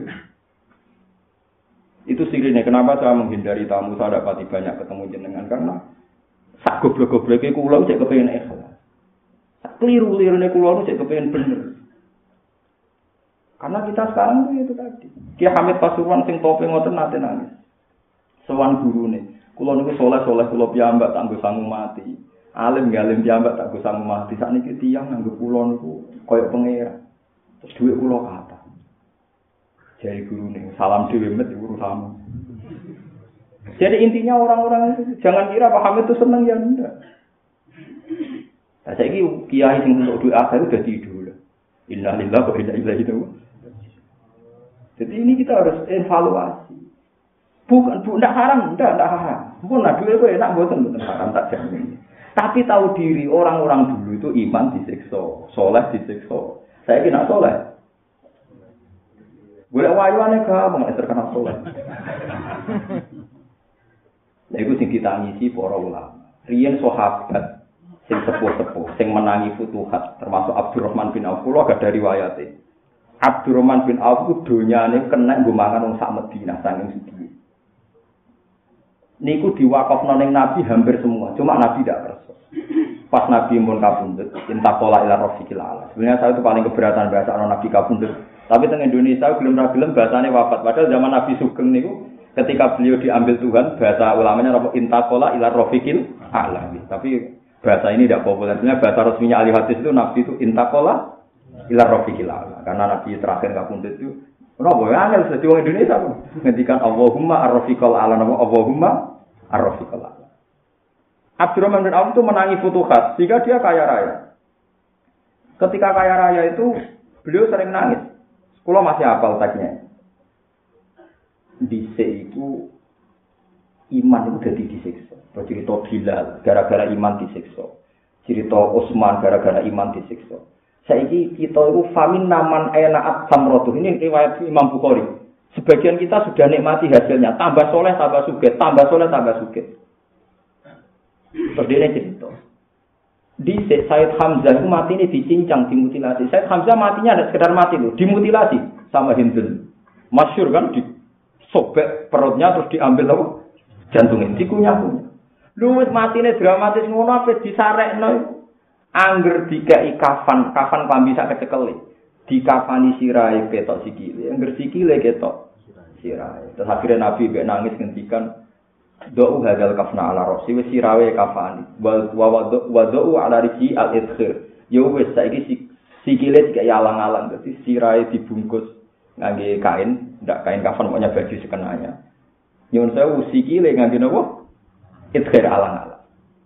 Speaker 2: Itu sirine kenapa saya menghindari tamu, saya dapati banyak ketemu jenengan karena sak goblok-gobloke kula cek kepengin ikhlas. Sak kliru-lirune kula cek kepengin bener. Karena kita sekarang itu tadi. Ki Hamid Pasuruan sing tope ngoten nate nangis. Sowan gurune. Kula niku soleh-soleh kula piyambak tak nggo sangu mati. Alim galim piyambak tak nggo sangu mati. Sakniki tiyang nganggo kula niku kaya pangeran. Terus dhuwit kula kathah. Jare gurune, salam dhewe met urusanmu. Jadi intinya orang-orang itu jangan kira Pak Hamid itu seneng ya enggak. Nah, saiki kiai sing untuk duit akhir udah tidur. Innalillahi wa inna ilaihi raji'un. Jadi ini kita harus evaluasi. Bukan enggak haram, enggak haram. Pun nah duit kok enak mboten haram tak jamin. Tapi tahu diri orang-orang dulu itu iman disiksa, soleh disiksa. Saya kira soleh. Boleh wayuane gampang nek terkenal soleh. Lha iku sing ditangisi para ulama. Riyen sahabat sing sepuh-sepuh sing menangi futuhat termasuk Abdurrahman bin Auf kula gak dari riwayate. Abdurrahman bin Auf ku donyane kena nggo mangan wong sak Madinah saking sugih. Niku diwakafno ning Nabi hampir semua, cuma Nabi tidak kersa. Pas Nabi mun kabundut, intakola ila rafiqil ala. Sebenarnya saya itu paling keberatan bahasa Nabi kabundut. Tapi teng Indonesia gelem ra gelem bahasane wafat. Padahal zaman Nabi Sugeng niku ketika beliau diambil Tuhan, bahasa ulamanya apa intakola ila rafiqil ala. Tapi bahasa ini tidak populer. Sebenarnya bahasa resminya ahli hadis itu Nabi itu intakola ila rafiqil ala. Karena Nabi terakhir kabundut itu napa ya angel dadi wong Indonesia kok. Ngendikan Allahumma ar-rafiqal ala, Allahumma ar-rafiqal ala. Abdurrahman bin Auf itu menangi futuhat sehingga dia kaya raya. Ketika kaya raya itu beliau sering nangis. Kalau masih hafal teksnya. Dhisik itu iman itu jadi disiksa. Cerita Bilal gara-gara iman disiksa. Cerita Utsman gara-gara iman disiksa. Saiki kita itu famin naman enaat samrotuh. Ini riwayat Imam Bukhari. Sebagian kita sudah nikmati hasilnya. Tambah soleh, tambah sugih. Tambah soleh, tambah sugih. Terus dia cerita. Di Said Hamzah itu mati ini dicincang, dimutilasi. Said Hamzah matinya tidak sekedar mati loh, dimutilasi sama Hindun. Masyhur kan, disobek perutnya terus diambil apa? Jantungnya, dikunyah-kunyah. Lu wis mati ini dramatis ngono apa disarekno. Angger dikai kafan klambi sak kecekele. Dikafani sirahe ketok sikile, angger sikile ketok sirahe. Terus akhirnya Nabi mbek nangis ngendikan do'u hadal kafna ala rosi wis sirawe kafani wa do'u ala risi al-idkhir ya wis saiki sikile dikaya alang-alang dadi sirahe dibungkus ngangge kain ndak kain kafan pokoknya baju sekenanya nyuwun sewu sikile ngangge napa idkhir alang-alang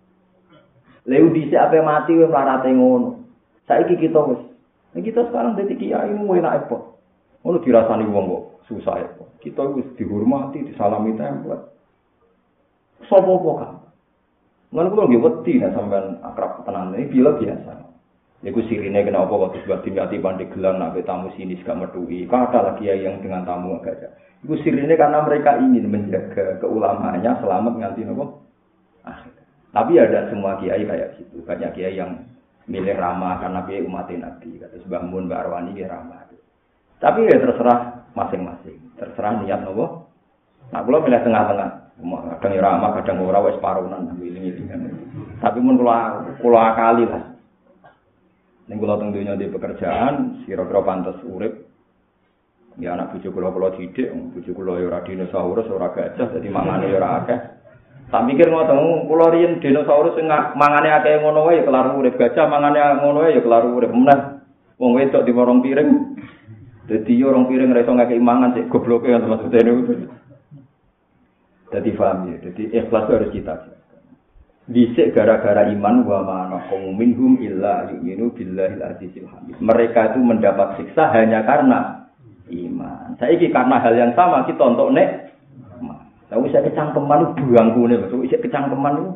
Speaker 2: leu dhisik ape mati wis mlarate ngono saiki kita wis kita sekarang dadi kiai mu enak apa ngono dirasani wong kok susah apa kita wis dihormati disalami tempel sopo kan. Lan kula nggih wedi nek sampean akrab tenan iki bila biasa. Niku sirine kenapa kok sebab dimati Pandeglang nak tamu sini gak metuhi. Kata lagi yang dengan tamu agak ada. Iku sirine karena mereka ingin menjaga keulamaannya selamat nganti napa? Akhir. Tapi ada semua kiai kayak gitu. Banyak kiai yang milih ramah karena kiai umat Nabi. Kata Mbah Mun, Mbah Arwani dia ramah. Tapi ya terserah masing-masing. Terserah niat napa. Nah, kula milih tengah-tengah. Kadang ramah, kadang ora wis parunan ngiling-ngilingan. Tapi mun kula akali lah. Ning kula teng donya di pekerjaan, kira-kira pantes urip. Ya anak bojo kula didik, bojo kula ya ora dinosaurus, ora gajah, dadi mangane ya ora akeh. Tak mikir ngoten, kula riyen dinosaurus sing mangane akeh ngono wae ya kelar urip, gajah mangane ngono wae ya kelar urip. Meneh wong wedok di warung piring. Dadi yo rong piring ora iso ngakeh mangan sik gobloke ya maksudene itu. Jadi paham ya, jadi ikhlas harus kita. Dhisik gara-gara iman wa ma minhum illa yu'minu billahil azizil hamid. Mereka itu mendapat siksa hanya karena iman. Saiki karena hal yang sama kita untuk nek. Tapi saya kecangkeman buangkune, maksud isih kecangkeman itu.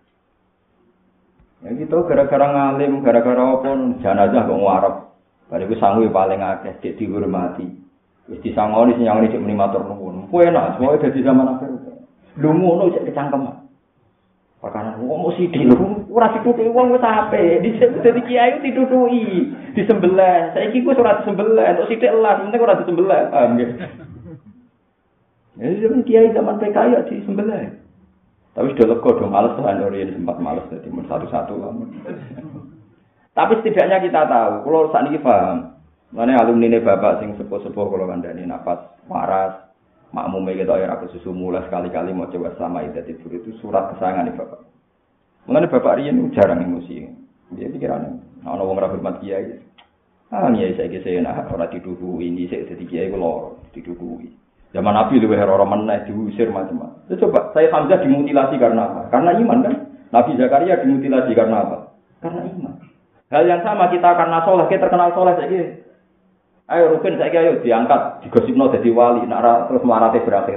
Speaker 2: Ya gitu gara-gara ngalim, gara-gara apa jenazah kok ngarep. Bariku sangu paling akeh dik dihormati. Wis disangoni sing nyangoni cek muni matur nuwun. Kuwi enak, semua dadi zaman akhir. Lu ngono cek kecangkeman. Perkara wong mesti lho, ora ditutuki wong wis ape. Dhisik dadi kiai ditutuki, disembelih. Saiki ku ora disembelih, entuk sithik elas, penting ora disembelih. Paham nggih? Ya zaman kiai zaman PKI ya disembelih. Tapi sudah lega dong, males kan orang sempat males jadi satu-satu lah. Tapi setidaknya kita tahu, kalau saat ini paham, mana alumni ini bapak sing sepuh-sepuh kalau kandani nafas waras, makmumnya kita ya aku susu mulai sekali-kali mau coba sama tidur itu surat kesayangan nih bapak. Mengenai bapak Rian jarang emosi, dia pikirannya, nah orang orang hormat kiai, kiai saya nak orang tidur ini saya jadi kiai kalau tidur. Zaman Nabi lebih orang mana diusir macam-macam. Coba saya Hamzah dimutilasi karena apa? Karena iman kan? Nabi Zakaria dimutilasi karena apa? Karena iman. Hal yang sama kita karena soleh, kita terkenal soleh saja. Ayo Rukin saya ayo diangkat, digosipno jadi wali, nak terus melarate berakhir.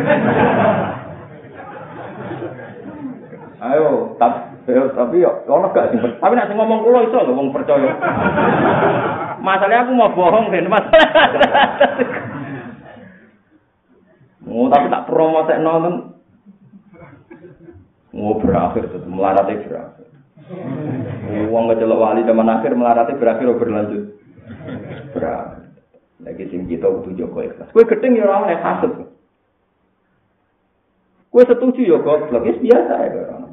Speaker 2: Ayo, tapi yo ono gak sing. Tapi nek sing ngomong kula iso lho wong percaya. Masalahnya aku mau bohong Den, masalah. Oh, tapi tak promotekno kan. Oh, berakhir itu melarate berakhir. Wong ngecelok wali zaman akhir melarate berakhir berlanjut. Berakhir. Lagi sing kita kudu jaga ikhlas. Kowe gedeng ya ora oleh hasud. Kowe setuju ya goblok, wis biasa ya ora.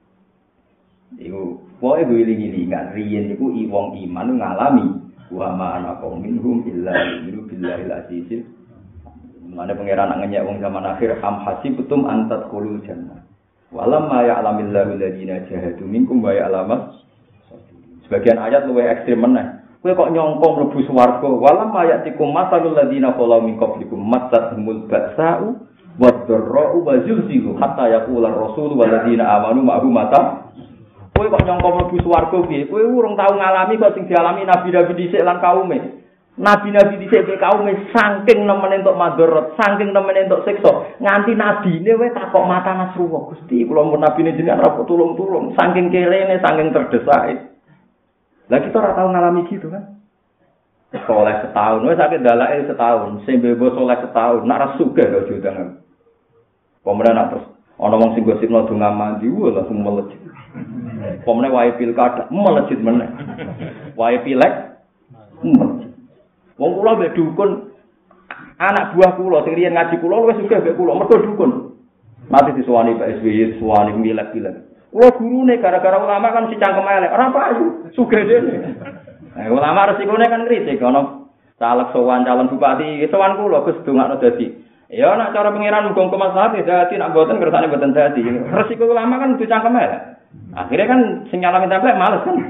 Speaker 2: Iku pokoke wiling-wilingan riyen iku wong iman ngalami wa ma ana minhum illa billahi al-azizil. Mana pangeran ngenyek wong zaman akhir am hasibtum antat qulul jannah. Walamma ya'lamillahu alladziina jahadu minkum wa ya'lamas. Sebagian ayat luwih ekstrem meneh. Kowe kok nyangka mlebu swarga. Walamma ya'tikum masalul ladziina qalu min qablikum mattathumul ba'sa'u wad-dharra'u wa zulzilu hatta yaqula ar-rasulu wal ladziina amanu ma'hu mata. Kowe kok nyangka mlebu swarga piye? Kowe urung tau ngalami kok sing dialami nabi-nabi dhisik lan kaume. Nabi-nabi dhisik kaum saking nemene entuk madharat, saking nemene entuk siksa, nganti nabine wis takok mata Nasrullah. Gusti, kula mun nabine jenengan ora tulung-tulung, saking kelene, saking terdesake. Lah kita ora tau ngalami gitu kan. Soleh setahun, wis sakit dalake setahun, sing bebo soleh setahun, nak ra sugih kok jodangan. Pemenang nak terus ana wong sing gosipno donga mandi, langsung melejit. Pemenang wae pilkada, melejit meneh. Wae pilek, melejit. Wong kula mbek dukun anak buah kula sing riyen ngaji kula wis sugih mbek kula mergo dukun. Mati disuwani Pak SBY, suwani milek-milek. Kula gurune gara-gara ulama kan si cangkem elek, ora payu, sugih dene. Ulama resikone kan kritik ana caleg sowan calon bupati, sowan kula Gus dongakno dadi. Ya nek cara pengiran muga-muga maslahat dadi nek mboten kersane mboten dadi. Resiko ulama kan dicangkem elek. Akhirnya kan sing nyalami templek males kan.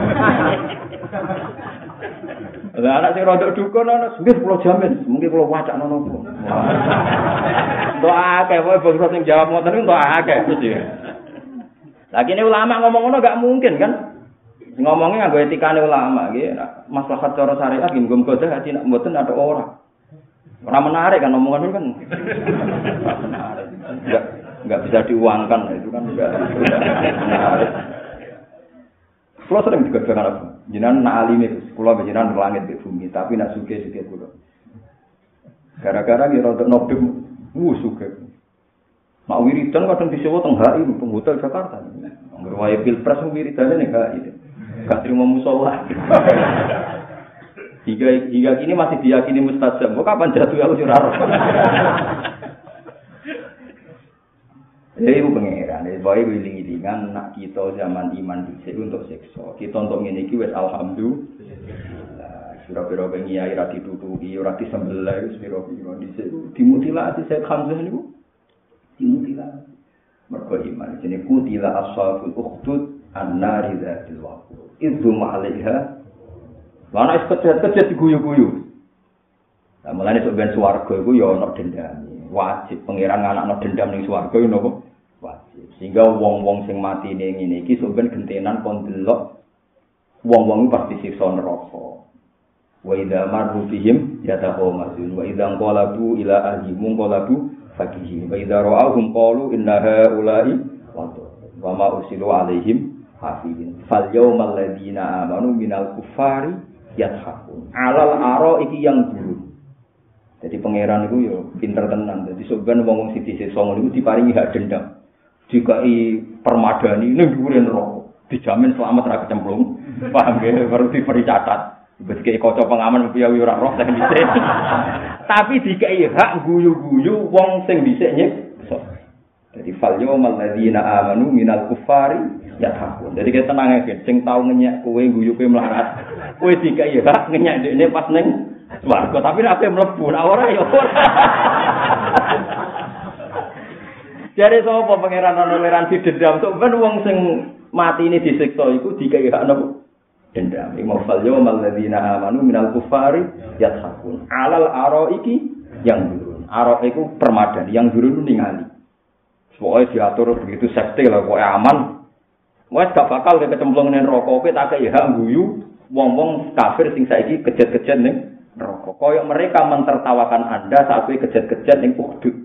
Speaker 2: Lah anak sing rodok dukun ana nggih kula jamin, mungkin kula wacakno nopo. Doa akeh wae bangsa sing jawab ngoten niku doa akeh mesti. Lagi ini ulama ngomong ngono gak mungkin kan? Ngomongnya nganggo etikane ulama nggih, maslahat cara syariat nggih muga-muga dadi nek mboten ada ora. Ora menarik kan omongan kan. Menarik. Enggak bisa diuangkan itu kan enggak menarik. Kulo sering juga dengan apa? Jenengan nak alime, kulo jenengan langit di bumi, tapi nak suge-suge kulo. Gara-gara ngira untuk nobim, suge. Mak wiridan kadang disewa teng HI, teng hotel Jakarta. Angger wae pilpres wiridane nek HI. Gak terima musyawarah. Hingga kini masih diyakini mustajab. Kok kapan jatuh aku ora ora. Jadi itu pengeran, baik wiling-wilingan nak kita zaman iman dhisik untuk siksa. Kita untuk ngene iki wis alhamdulillah. Pira-pira pengiai ra ditutuki, ora disembelih wis pira-pira dhisik dimutilasi Syekh Hamzah niku. Dimutilasi. Mergo iman jenenge kutila ashabul ukhdud an-nari dzatil waqud. Idzu ma'alaiha. Ana kejet-kejet diguyu-guyu. Lah mulane sok ben swarga iku ya ana dendam. Wajib pengiran anakno dendam ning swarga yo napa? Wajib. Sehingga wong-wong sing mati ning ngene iki sampeyan gentenan kon delok wong-wong pasti siksa neraka. Wa idza marru bihim yatahawmazun wa idza qalabu ila ahlihim qalabu fakihin wa idza ra'awhum qalu inna haula'i wa ma ursilu alaihim hafizin. Fal yawmal ladzina amanu minal kuffari yadhakun. Alal araiki yang dulu. Jadi pangeran itu yo pinter tenan. Jadi sebenarnya wong sing disiksa ngono iku diparingi hak dendam. dikai permadani ning dhuwure neraka. Dijamin selamat ra kecemplung. Paham nggih? Baru diberi catat. Wis kaya kaca pengaman piye ora roh sing dhisik. Tapi dikai hak guyu-guyu wong sing dhisik nyiksa. Jadi fal yawmal ladzina amanu minal kuffari yathakun. Jadi kita tenang aja, sing tau ngenyek kowe guyu kowe melarat. Kowe dikai hak ngenyek dekne pas ning swarga, tapi nek ape mlebu ora ya ora. Jadi sapa pangeran toleransi dendam sok ben wong sing mati ini disiksa iku dikai hak napa? Dendam. Mafal yawmal ladzina amanu minal kuffari yathakun. Alal araiki yang durun. Ara iku permadani, yang durun ningali. Pokoke diatur begitu safety lah, pokoke aman. Wes gak bakal kecemplung ning neraka, kowe tak kei hak guyu wong-wong kafir sing saiki kejet-kejet ning neraka. Kaya mereka mentertawakan Anda saat kowe kejet-kejet ning Uhud.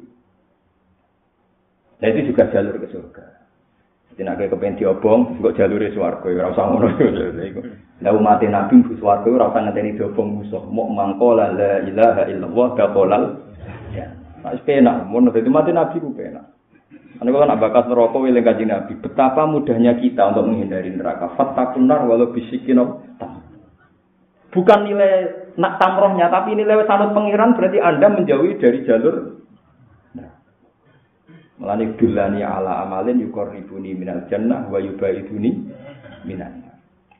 Speaker 2: Nah itu juga jalur ke surga. Jadi nak kepen diobong, kok jalure swarga ora usah ngono iku. Lah umat Nabi mlebu swarga ora usah ngenteni diobong musuh. Mok mangkola la ilaha illallah daqolal. Ya. Nek penak, mun dadi umat Nabi ku penak. Ana kok nak bakas neraka eling Kanjeng Nabi. Betapa mudahnya kita untuk menghindari neraka. Fattaqun nar walau bisikin. Bukan nilai nak tamrohnya, tapi nilai sanut pengiran berarti Anda menjauhi dari jalur. Melani dulani ala amalin yuqarribuni minal jannah wa yubaiduni minan nar.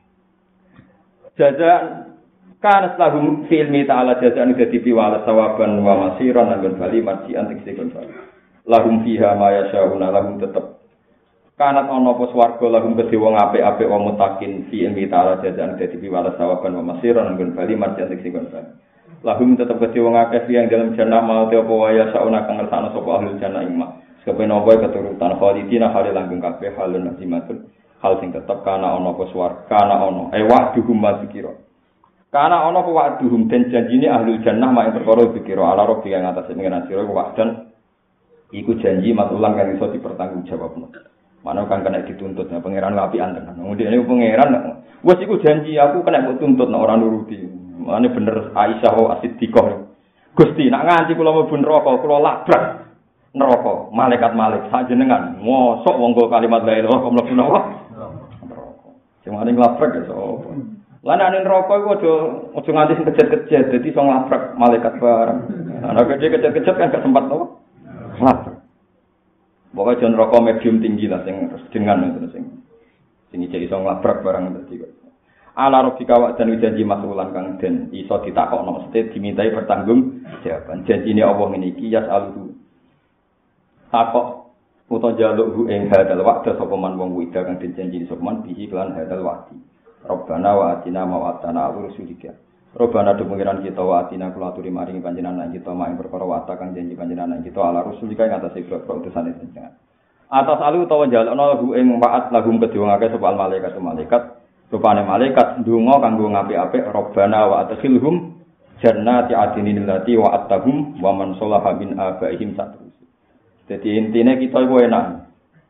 Speaker 2: Jazaan kana lahum fi ilmi ta'ala jazaan dadi piwala sawaban wa masiran lan bali marji antik sekon bali. Lahum fiha ma yasyauna lahum tetep kanat ana apa swarga lahum kedhe wong apik-apik wong mutakin fi ilmi ta'ala jazaan dadi piwala sawaban wa masiran lan bali marji antik sekon bali. Lahum tetep kedhe wong akeh yang dalam jannah mau te apa waya sauna kang ngersakno sapa ahli jannah ing Kepen apa keturutan khalidina hale langgeng kabeh halun nazimatun hal sing tetep kana ana apa swarga kana ana wa'duhum mazkira kana ana apa wa'duhum den janjine ahli jannah mak perkara dikira ala rabbi kang atase pengen sira wa'dan iku janji matulang kan iso dipertanggungjawabno mana kan kena dituntut ya pangeran apian tenan ngene pangeran wis iku janji aku kena mbok tuntut nek ora nuruti mane bener Aisyah As-Siddiqah Gusti nak nganti kula mlebu neraka kula labrak neraka malaikat sajenengan mosok wong go kalimat la ilaha illallah mlebu neraka sing maring labrak ya sapa lan nek neraka iku aja nganti sing kejet-kejet dadi iso labrak malaikat bareng ana kejet-kejet kan gak sempat to labrak pokoke jan neraka medium tinggi lah sing dengan terus sing iso labrak bareng dadi ala robika wa dan janji masulan kang den iso ditakokno mesti dimintai bertanggung jawaban janjine Allah ngene iki yas aluhu takok utawa jaluk ing hadal waqt sapa man wong wida kang dijanji sapa man bihi lan hadal waqti Rabbana wa atina ma wa'tana rusulika Rabbana do pengiran kita wa atina kula aturi maring panjenengan kita mak ing perkara wa'ta kang janji panjenengan kita ala rusulika ing atase utusane panjenengan atas alu utawa jalukna ing wa'at lahum kedhiwangake sapa malaikat rupane malaikat ndonga kanggo ngapik-apik Rabbana wa adkhilhum jannati adinin allati wa'attahum wa man sholaha min abaihim satru. Jadi intinya kita itu enak.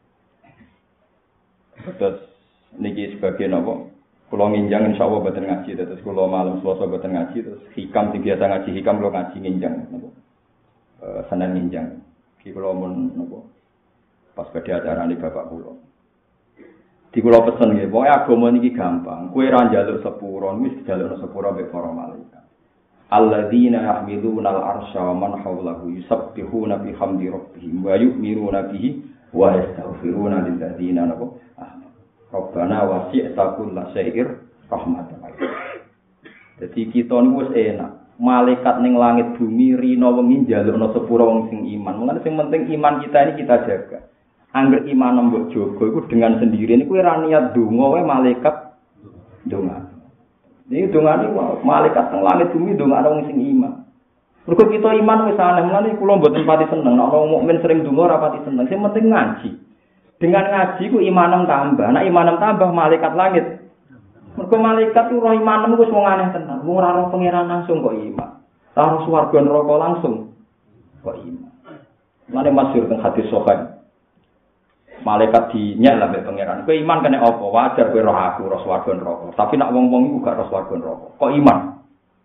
Speaker 2: Terus niki sebagian apa? Kalau nginjang insya Allah badan ngaji. Terus kalau malam Selasa badan ngaji. Terus hikam biasa ngaji hikam kalau ngaji nginjang. Senin nginjang. Kalau mau pas pada acara ini bapak pulau. Di pulau pesen ya. Pokoknya agama niki gampang. Kue ranjaluk sepuro. Wis jaluk sepuro be para malaikat. Alladzina yahmiluna al-arsha wa man hawlahu yusabbihuna bihamdi rabbihim wa yu'minuna bihi wa yastaghfiruna lil ladzina amanu Rabbana wasi'ta kulla syai'ir rahmatan. Jadi kita niku wis enak. Malaikat ning langit bumi rina wengi njalukna sepura wong sing iman. Mulane sing penting iman kita ini kita jaga. Angger iman mbok jaga iku dengan sendiri niku ora niat donga wae malaikat donga. Ini dongane malaikat teng langit bumi dongane wong sing iman. Mergo kita iman wis aneh, mulane kula mboten pati seneng nek wong mukmin sering donga ora pati seneng. Sing penting ngaji. Dengan ngaji ku imanem tambah. Nek imanem tambah malaikat langit. Mergo malaikat ku roh imanem wis wong aneh tenan. Wong ora roh pangeran langsung kok iman. Ora roh swarga neraka langsung kok iman. Mulane masyhur teng hadis sahih. Malaikat dinyek lah mbek pangeran. Kowe iman kene apa? Wajar kowe roh aku, roh swarga neraka. Tapi nek wong-wong iku gak roh swarga neraka. Kok iman?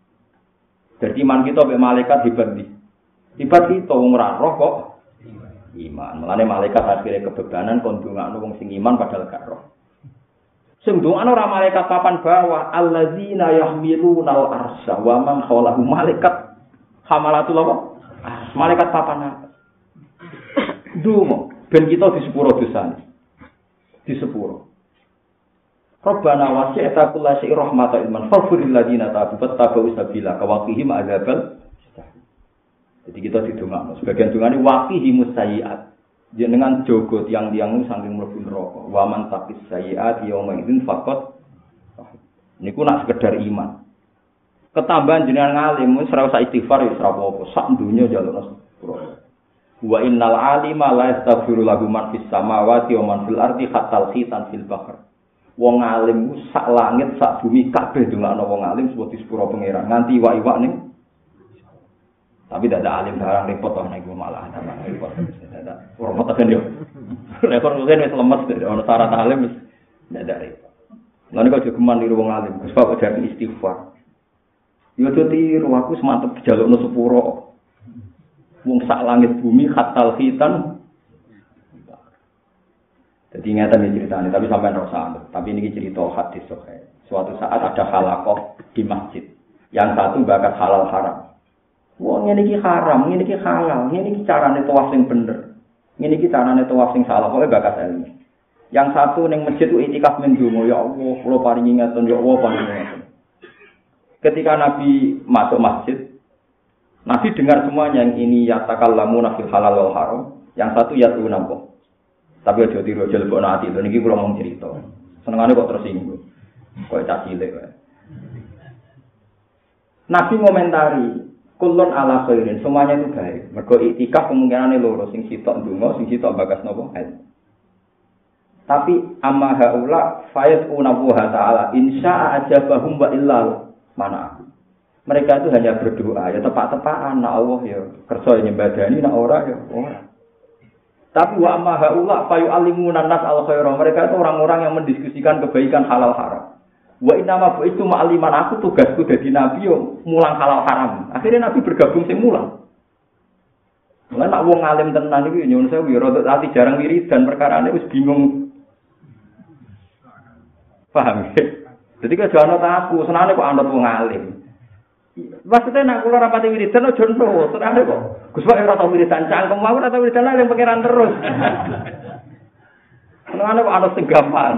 Speaker 2: Jadi iman kita mbek malaikat hebat iki. Hebat kita wong ora roh kok iman. Mulane malaikat akhire kebebanan kon ndongakno wong sing iman padahal gak roh. Sing ndongakno ora malaikat papan bawah, alladzina yahmilunal arsya wa man hawlahu malaikat hamalatul apa? Malaikat papan atas. Dungo ben kita di sepuro dosane. Di sepuro. Rabbana wasi'ta kulla syai'in rahmatan ilman faghfiril ladzina tabu fattabu sabila kawaqihim adzabal. Jadi kita didongakno. Sebagian dongane waqihimus sayyi'at. Jenengan jogo tiang-tiang saking mlebu neraka. Wa man taqis sayyi'at yauma idzin faqat. Niku nak sekedar iman. Ketambahan jenengan ngalim wis ora usah istighfar wis ora apa-apa. Sak donya njalukno sepuro. Wa innal alima la yastaghfiru lahu man fis samawati wa man fil ardi hatta khitan fil bahr. Wong alim sak langit sak bumi kabeh ndongakno wong alim sebut di sepuro pangeran nganti iwak-iwak ning. Tapi tidak ada alim barang repot toh nek malah tambah repot. Tidak repot kan yo. Rekor mungkin wis lemes ono syarat alim wis tidak ada repot. Lan kok jogeman niru wong alim, Gus Pak ajar istighfar. Yo tiru aku semantep dijalukno sepuro. Wong sak langit bumi khatal khitan. Jadi ingatan ini ceritanya, tapi sampai rasa. Tapi ini cerita hadis sahih. Suatu saat ada halaqah di masjid. Yang satu bakat halal haram. Wah, ini haram, ini halal, ini carane tawaf sing bener. Ini carane tawaf sing salah, pokoknya bakat ilmu. Yang satu ning masjid itu itikaf mendungo, ya Allah, kula paringi ngaten, ya Allah paringi ngaten. Ketika Nabi masuk masjid, Nabi dengar semuanya yang ini yatakallamuna fil halal wal haram, yang satu yatuna apa. Tapi aja tiru aja lebok ati, lho niki kula mung cerita. Senengane kok tersinggung. Kok cah cilik wae. Nabi ngomentari, kullun ala khairin, semuanya itu baik. Mergo iktikaf kemungkinane loro, sing sitok ndonga, sing sitok bagas napa? Tapi amma haula fayatuna wa ta'ala insya ajabahum wa illa mana. Mereka itu hanya berdoa, ya tepak-tepakan, nak Allah ya kersa nyembadani, nak ora ya ora. Tapi wa amma haula fayu'allimuna nas al khaira. Mereka itu orang-orang yang mendiskusikan kebaikan halal haram. Wa inna ma itu ma'aliman aku tugasku dadi nabi yo mulang halal haram. Akhirnya nabi bergabung sing mulang. Mulane nak wong alim tenan iki nyuwun sewu ya rada ati jarang wiridan perkarane wis bingung. Paham ya? Jadi ke jono aku senane kok anut wong alim. Maksudnya nak kula rapati wiridan ojo nro, senane kok. Gus Pak ora tau wiridan cangkem aku ora tau wiridan yang pangeran terus. Senane kok anut sing gampang.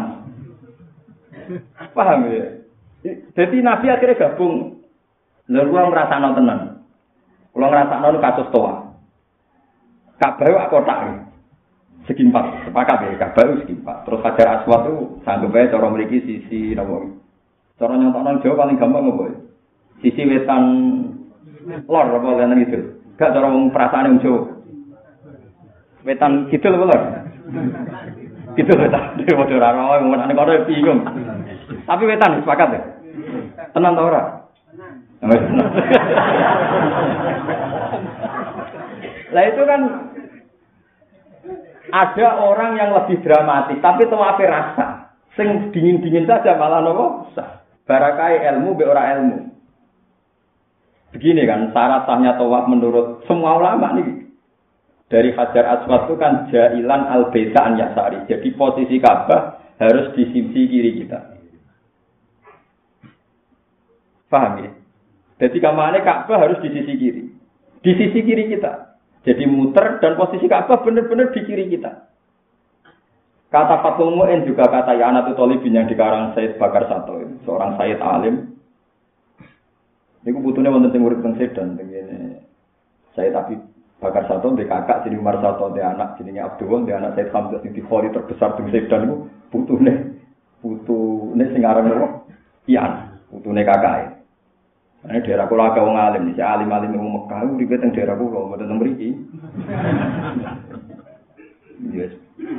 Speaker 2: Paham ya? Jadi Nabi akhirnya gabung. Lalu kula ngrasakno tenan. Kula ngrasakno kasus toa. Kabeh kotak. Segi 4, sepakat ya, kabeh segi 4. Terus Hajar Aswad itu sanggup ae cara mriki sisi napa. Cara nyontokno Jawa paling gampang apa ya? Sisi wetan lor apa lene gitu. Gak cara wong perasaane wong Jawa. Wetan kidul apa lor? Kidul wetan. Dewe ora ora wong nek kono bingung. Tapi wetan sepakat ya? Tenan ta ora? Tenan. Lah itu kan ada orang yang lebih dramatis, tapi tawafe rasa. Sing dingin-dingin saja malah nopo sah. Barakai ilmu be ora ilmu. Begini kan syarat sahnya tawaf menurut semua ulama nih. Dari Hajar Aswad itu kan jailan al-baita'an yasari. Jadi posisi Ka'bah harus di sisi kiri kita. Paham ya? Jadi kamane Ka'bah harus di sisi kiri. Di sisi kiri kita. Jadi muter dan posisi Ka'bah benar-benar di kiri kita. Kata Fathul Mu'in juga kata Ya'natul Thalibin yang dikarang Said Bakar Sato, seorang Said alim. Ini butuhnya wonten sing urip teng Sedan ngene. Said Habib Bakar Sato ndek kakak jenenge Umar Sato, ndek anak jenenge Abdul, ndek anak Said Hamzah sing dikhori terbesar teng Sedan niku putune sing aran apa? Ian, putune kakake. Ini daerah kula agak wong alim, si alim-alim wong Mekah uripe teng daerah kula, mboten teng mriki. Yes.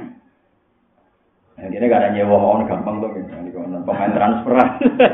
Speaker 2: Ini gak ada nyewa mohon gampang tuh, ini pemain transferan.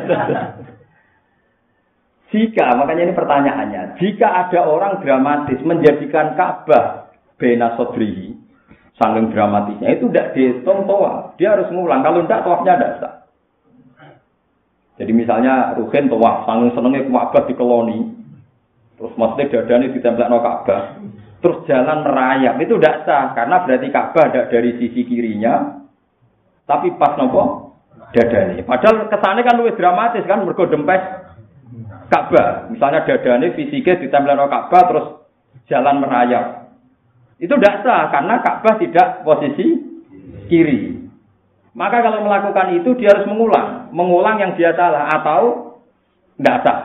Speaker 2: Makanya ini pertanyaannya, jika ada orang dramatis menjadikan Ka'bah bena sodrihi, saking dramatisnya, itu tidak dihitung tawaf, dia harus ngulang, kalau tidak tawafnya tidak sah. Jadi misalnya Ruhin tawaf, saking senengnya Ka'bah dikeloni, terus maksudnya dadane ditempelno Ka'bah, terus jalan merayap, itu tidak sah karena berarti Ka'bah ada dari sisi kirinya, tapi pas nopo dadane. Padahal kesannya kan lebih dramatis kan, mergo dempes Ka'bah. Misalnya dadane fisiknya ditempel karo Ka'bah terus jalan merayap. Itu tidak sah karena Ka'bah tidak posisi kiri. Maka kalau melakukan itu dia harus mengulang yang dia salah atau tidak sah.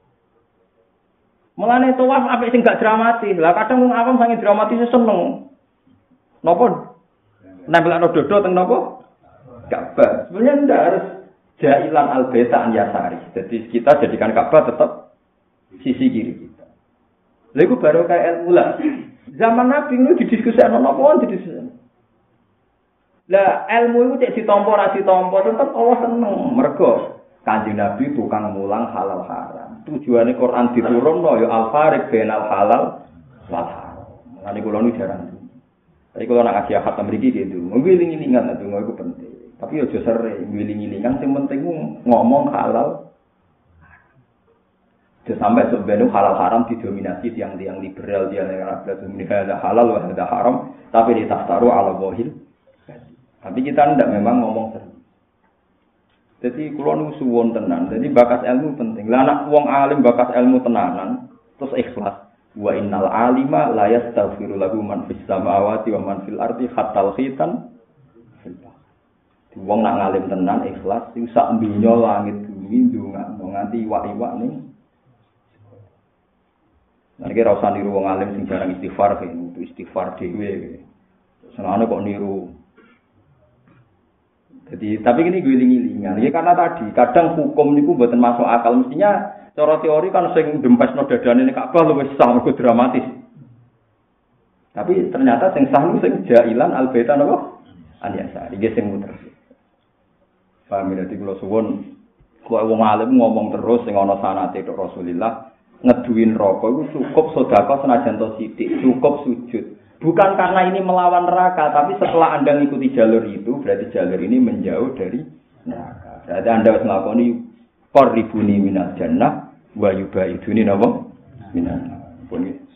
Speaker 2: Mulane tawaf apik sing gak dramatis. Lah kadang wong awam sange dramatis seneng. Napa nempelno dodo teng napa? Ka'bah. Sebenarnya ndak harus jailan al-baita an yasari. Jadi kita jadikan Ka'bah tetap sisi kiri kita. Lha iku baru kayak ilmu lah. Zaman Nabi itu didiskusikan napa didiskusikan. Lah ilmu itu cek ditampa ora ditampa tetep Allah seneng. Mergo Kanjeng Nabi tukang mulang halal haram. Tujuane Quran diturunno ya al-fariq bainal halal wal haram. Mulane kula nu jarang. Tapi kalau nak kasih akad mriki gitu, ngiling-ngilingan itu iku penting. Tapi aja sering ngiling-ngilingan sing penting ngomong halal. Sampai sebenarnya halal haram didominasi tiang-tiang liberal, tiang yang ada halal ada haram, tapi ditaftaru ala wahil. Tapi kita tidak memang ngomong sering. Jadi kalau nu suwon tenan, jadi bakas ilmu penting. Lah anak wong alim bakas ilmu tenanan, terus ikhlas. Wa innal alima la yastaghfiru lahu man fis samawati wa man fil ardi hatta khitan. Wong nak ngalim tenan ikhlas, iku sak donya langit bumi ndongakno nganti iwak-iwak ning. Nek ora usah niru wong alim sing jarang istighfar, itu istighfar dhewe. Senane kok niru. Jadi, tapi ini giling-gilingan. Ya karena tadi, kadang hukum niku mboten masuk akal. Mestinya cara teori kan sing dempesno dadane ning Ka'bah luwih sah mergo dramatis. Tapi ternyata sing sah niku sing jailan al-baita napa? An-yasari, iki sing muter. Paham ya, dadi kula suwun kok wong alim ngomong terus sing ana sanate tok Rasulillah ngeduwin rokok iku cukup sedekah senajan to sithik, cukup sujud. Bukan karena ini melawan neraka, tapi setelah Anda mengikuti jalur itu, berarti jalur ini menjauh dari neraka. Berarti Anda harus melakukan qarribuni minal jannah wa yubaiduni napa? Minan.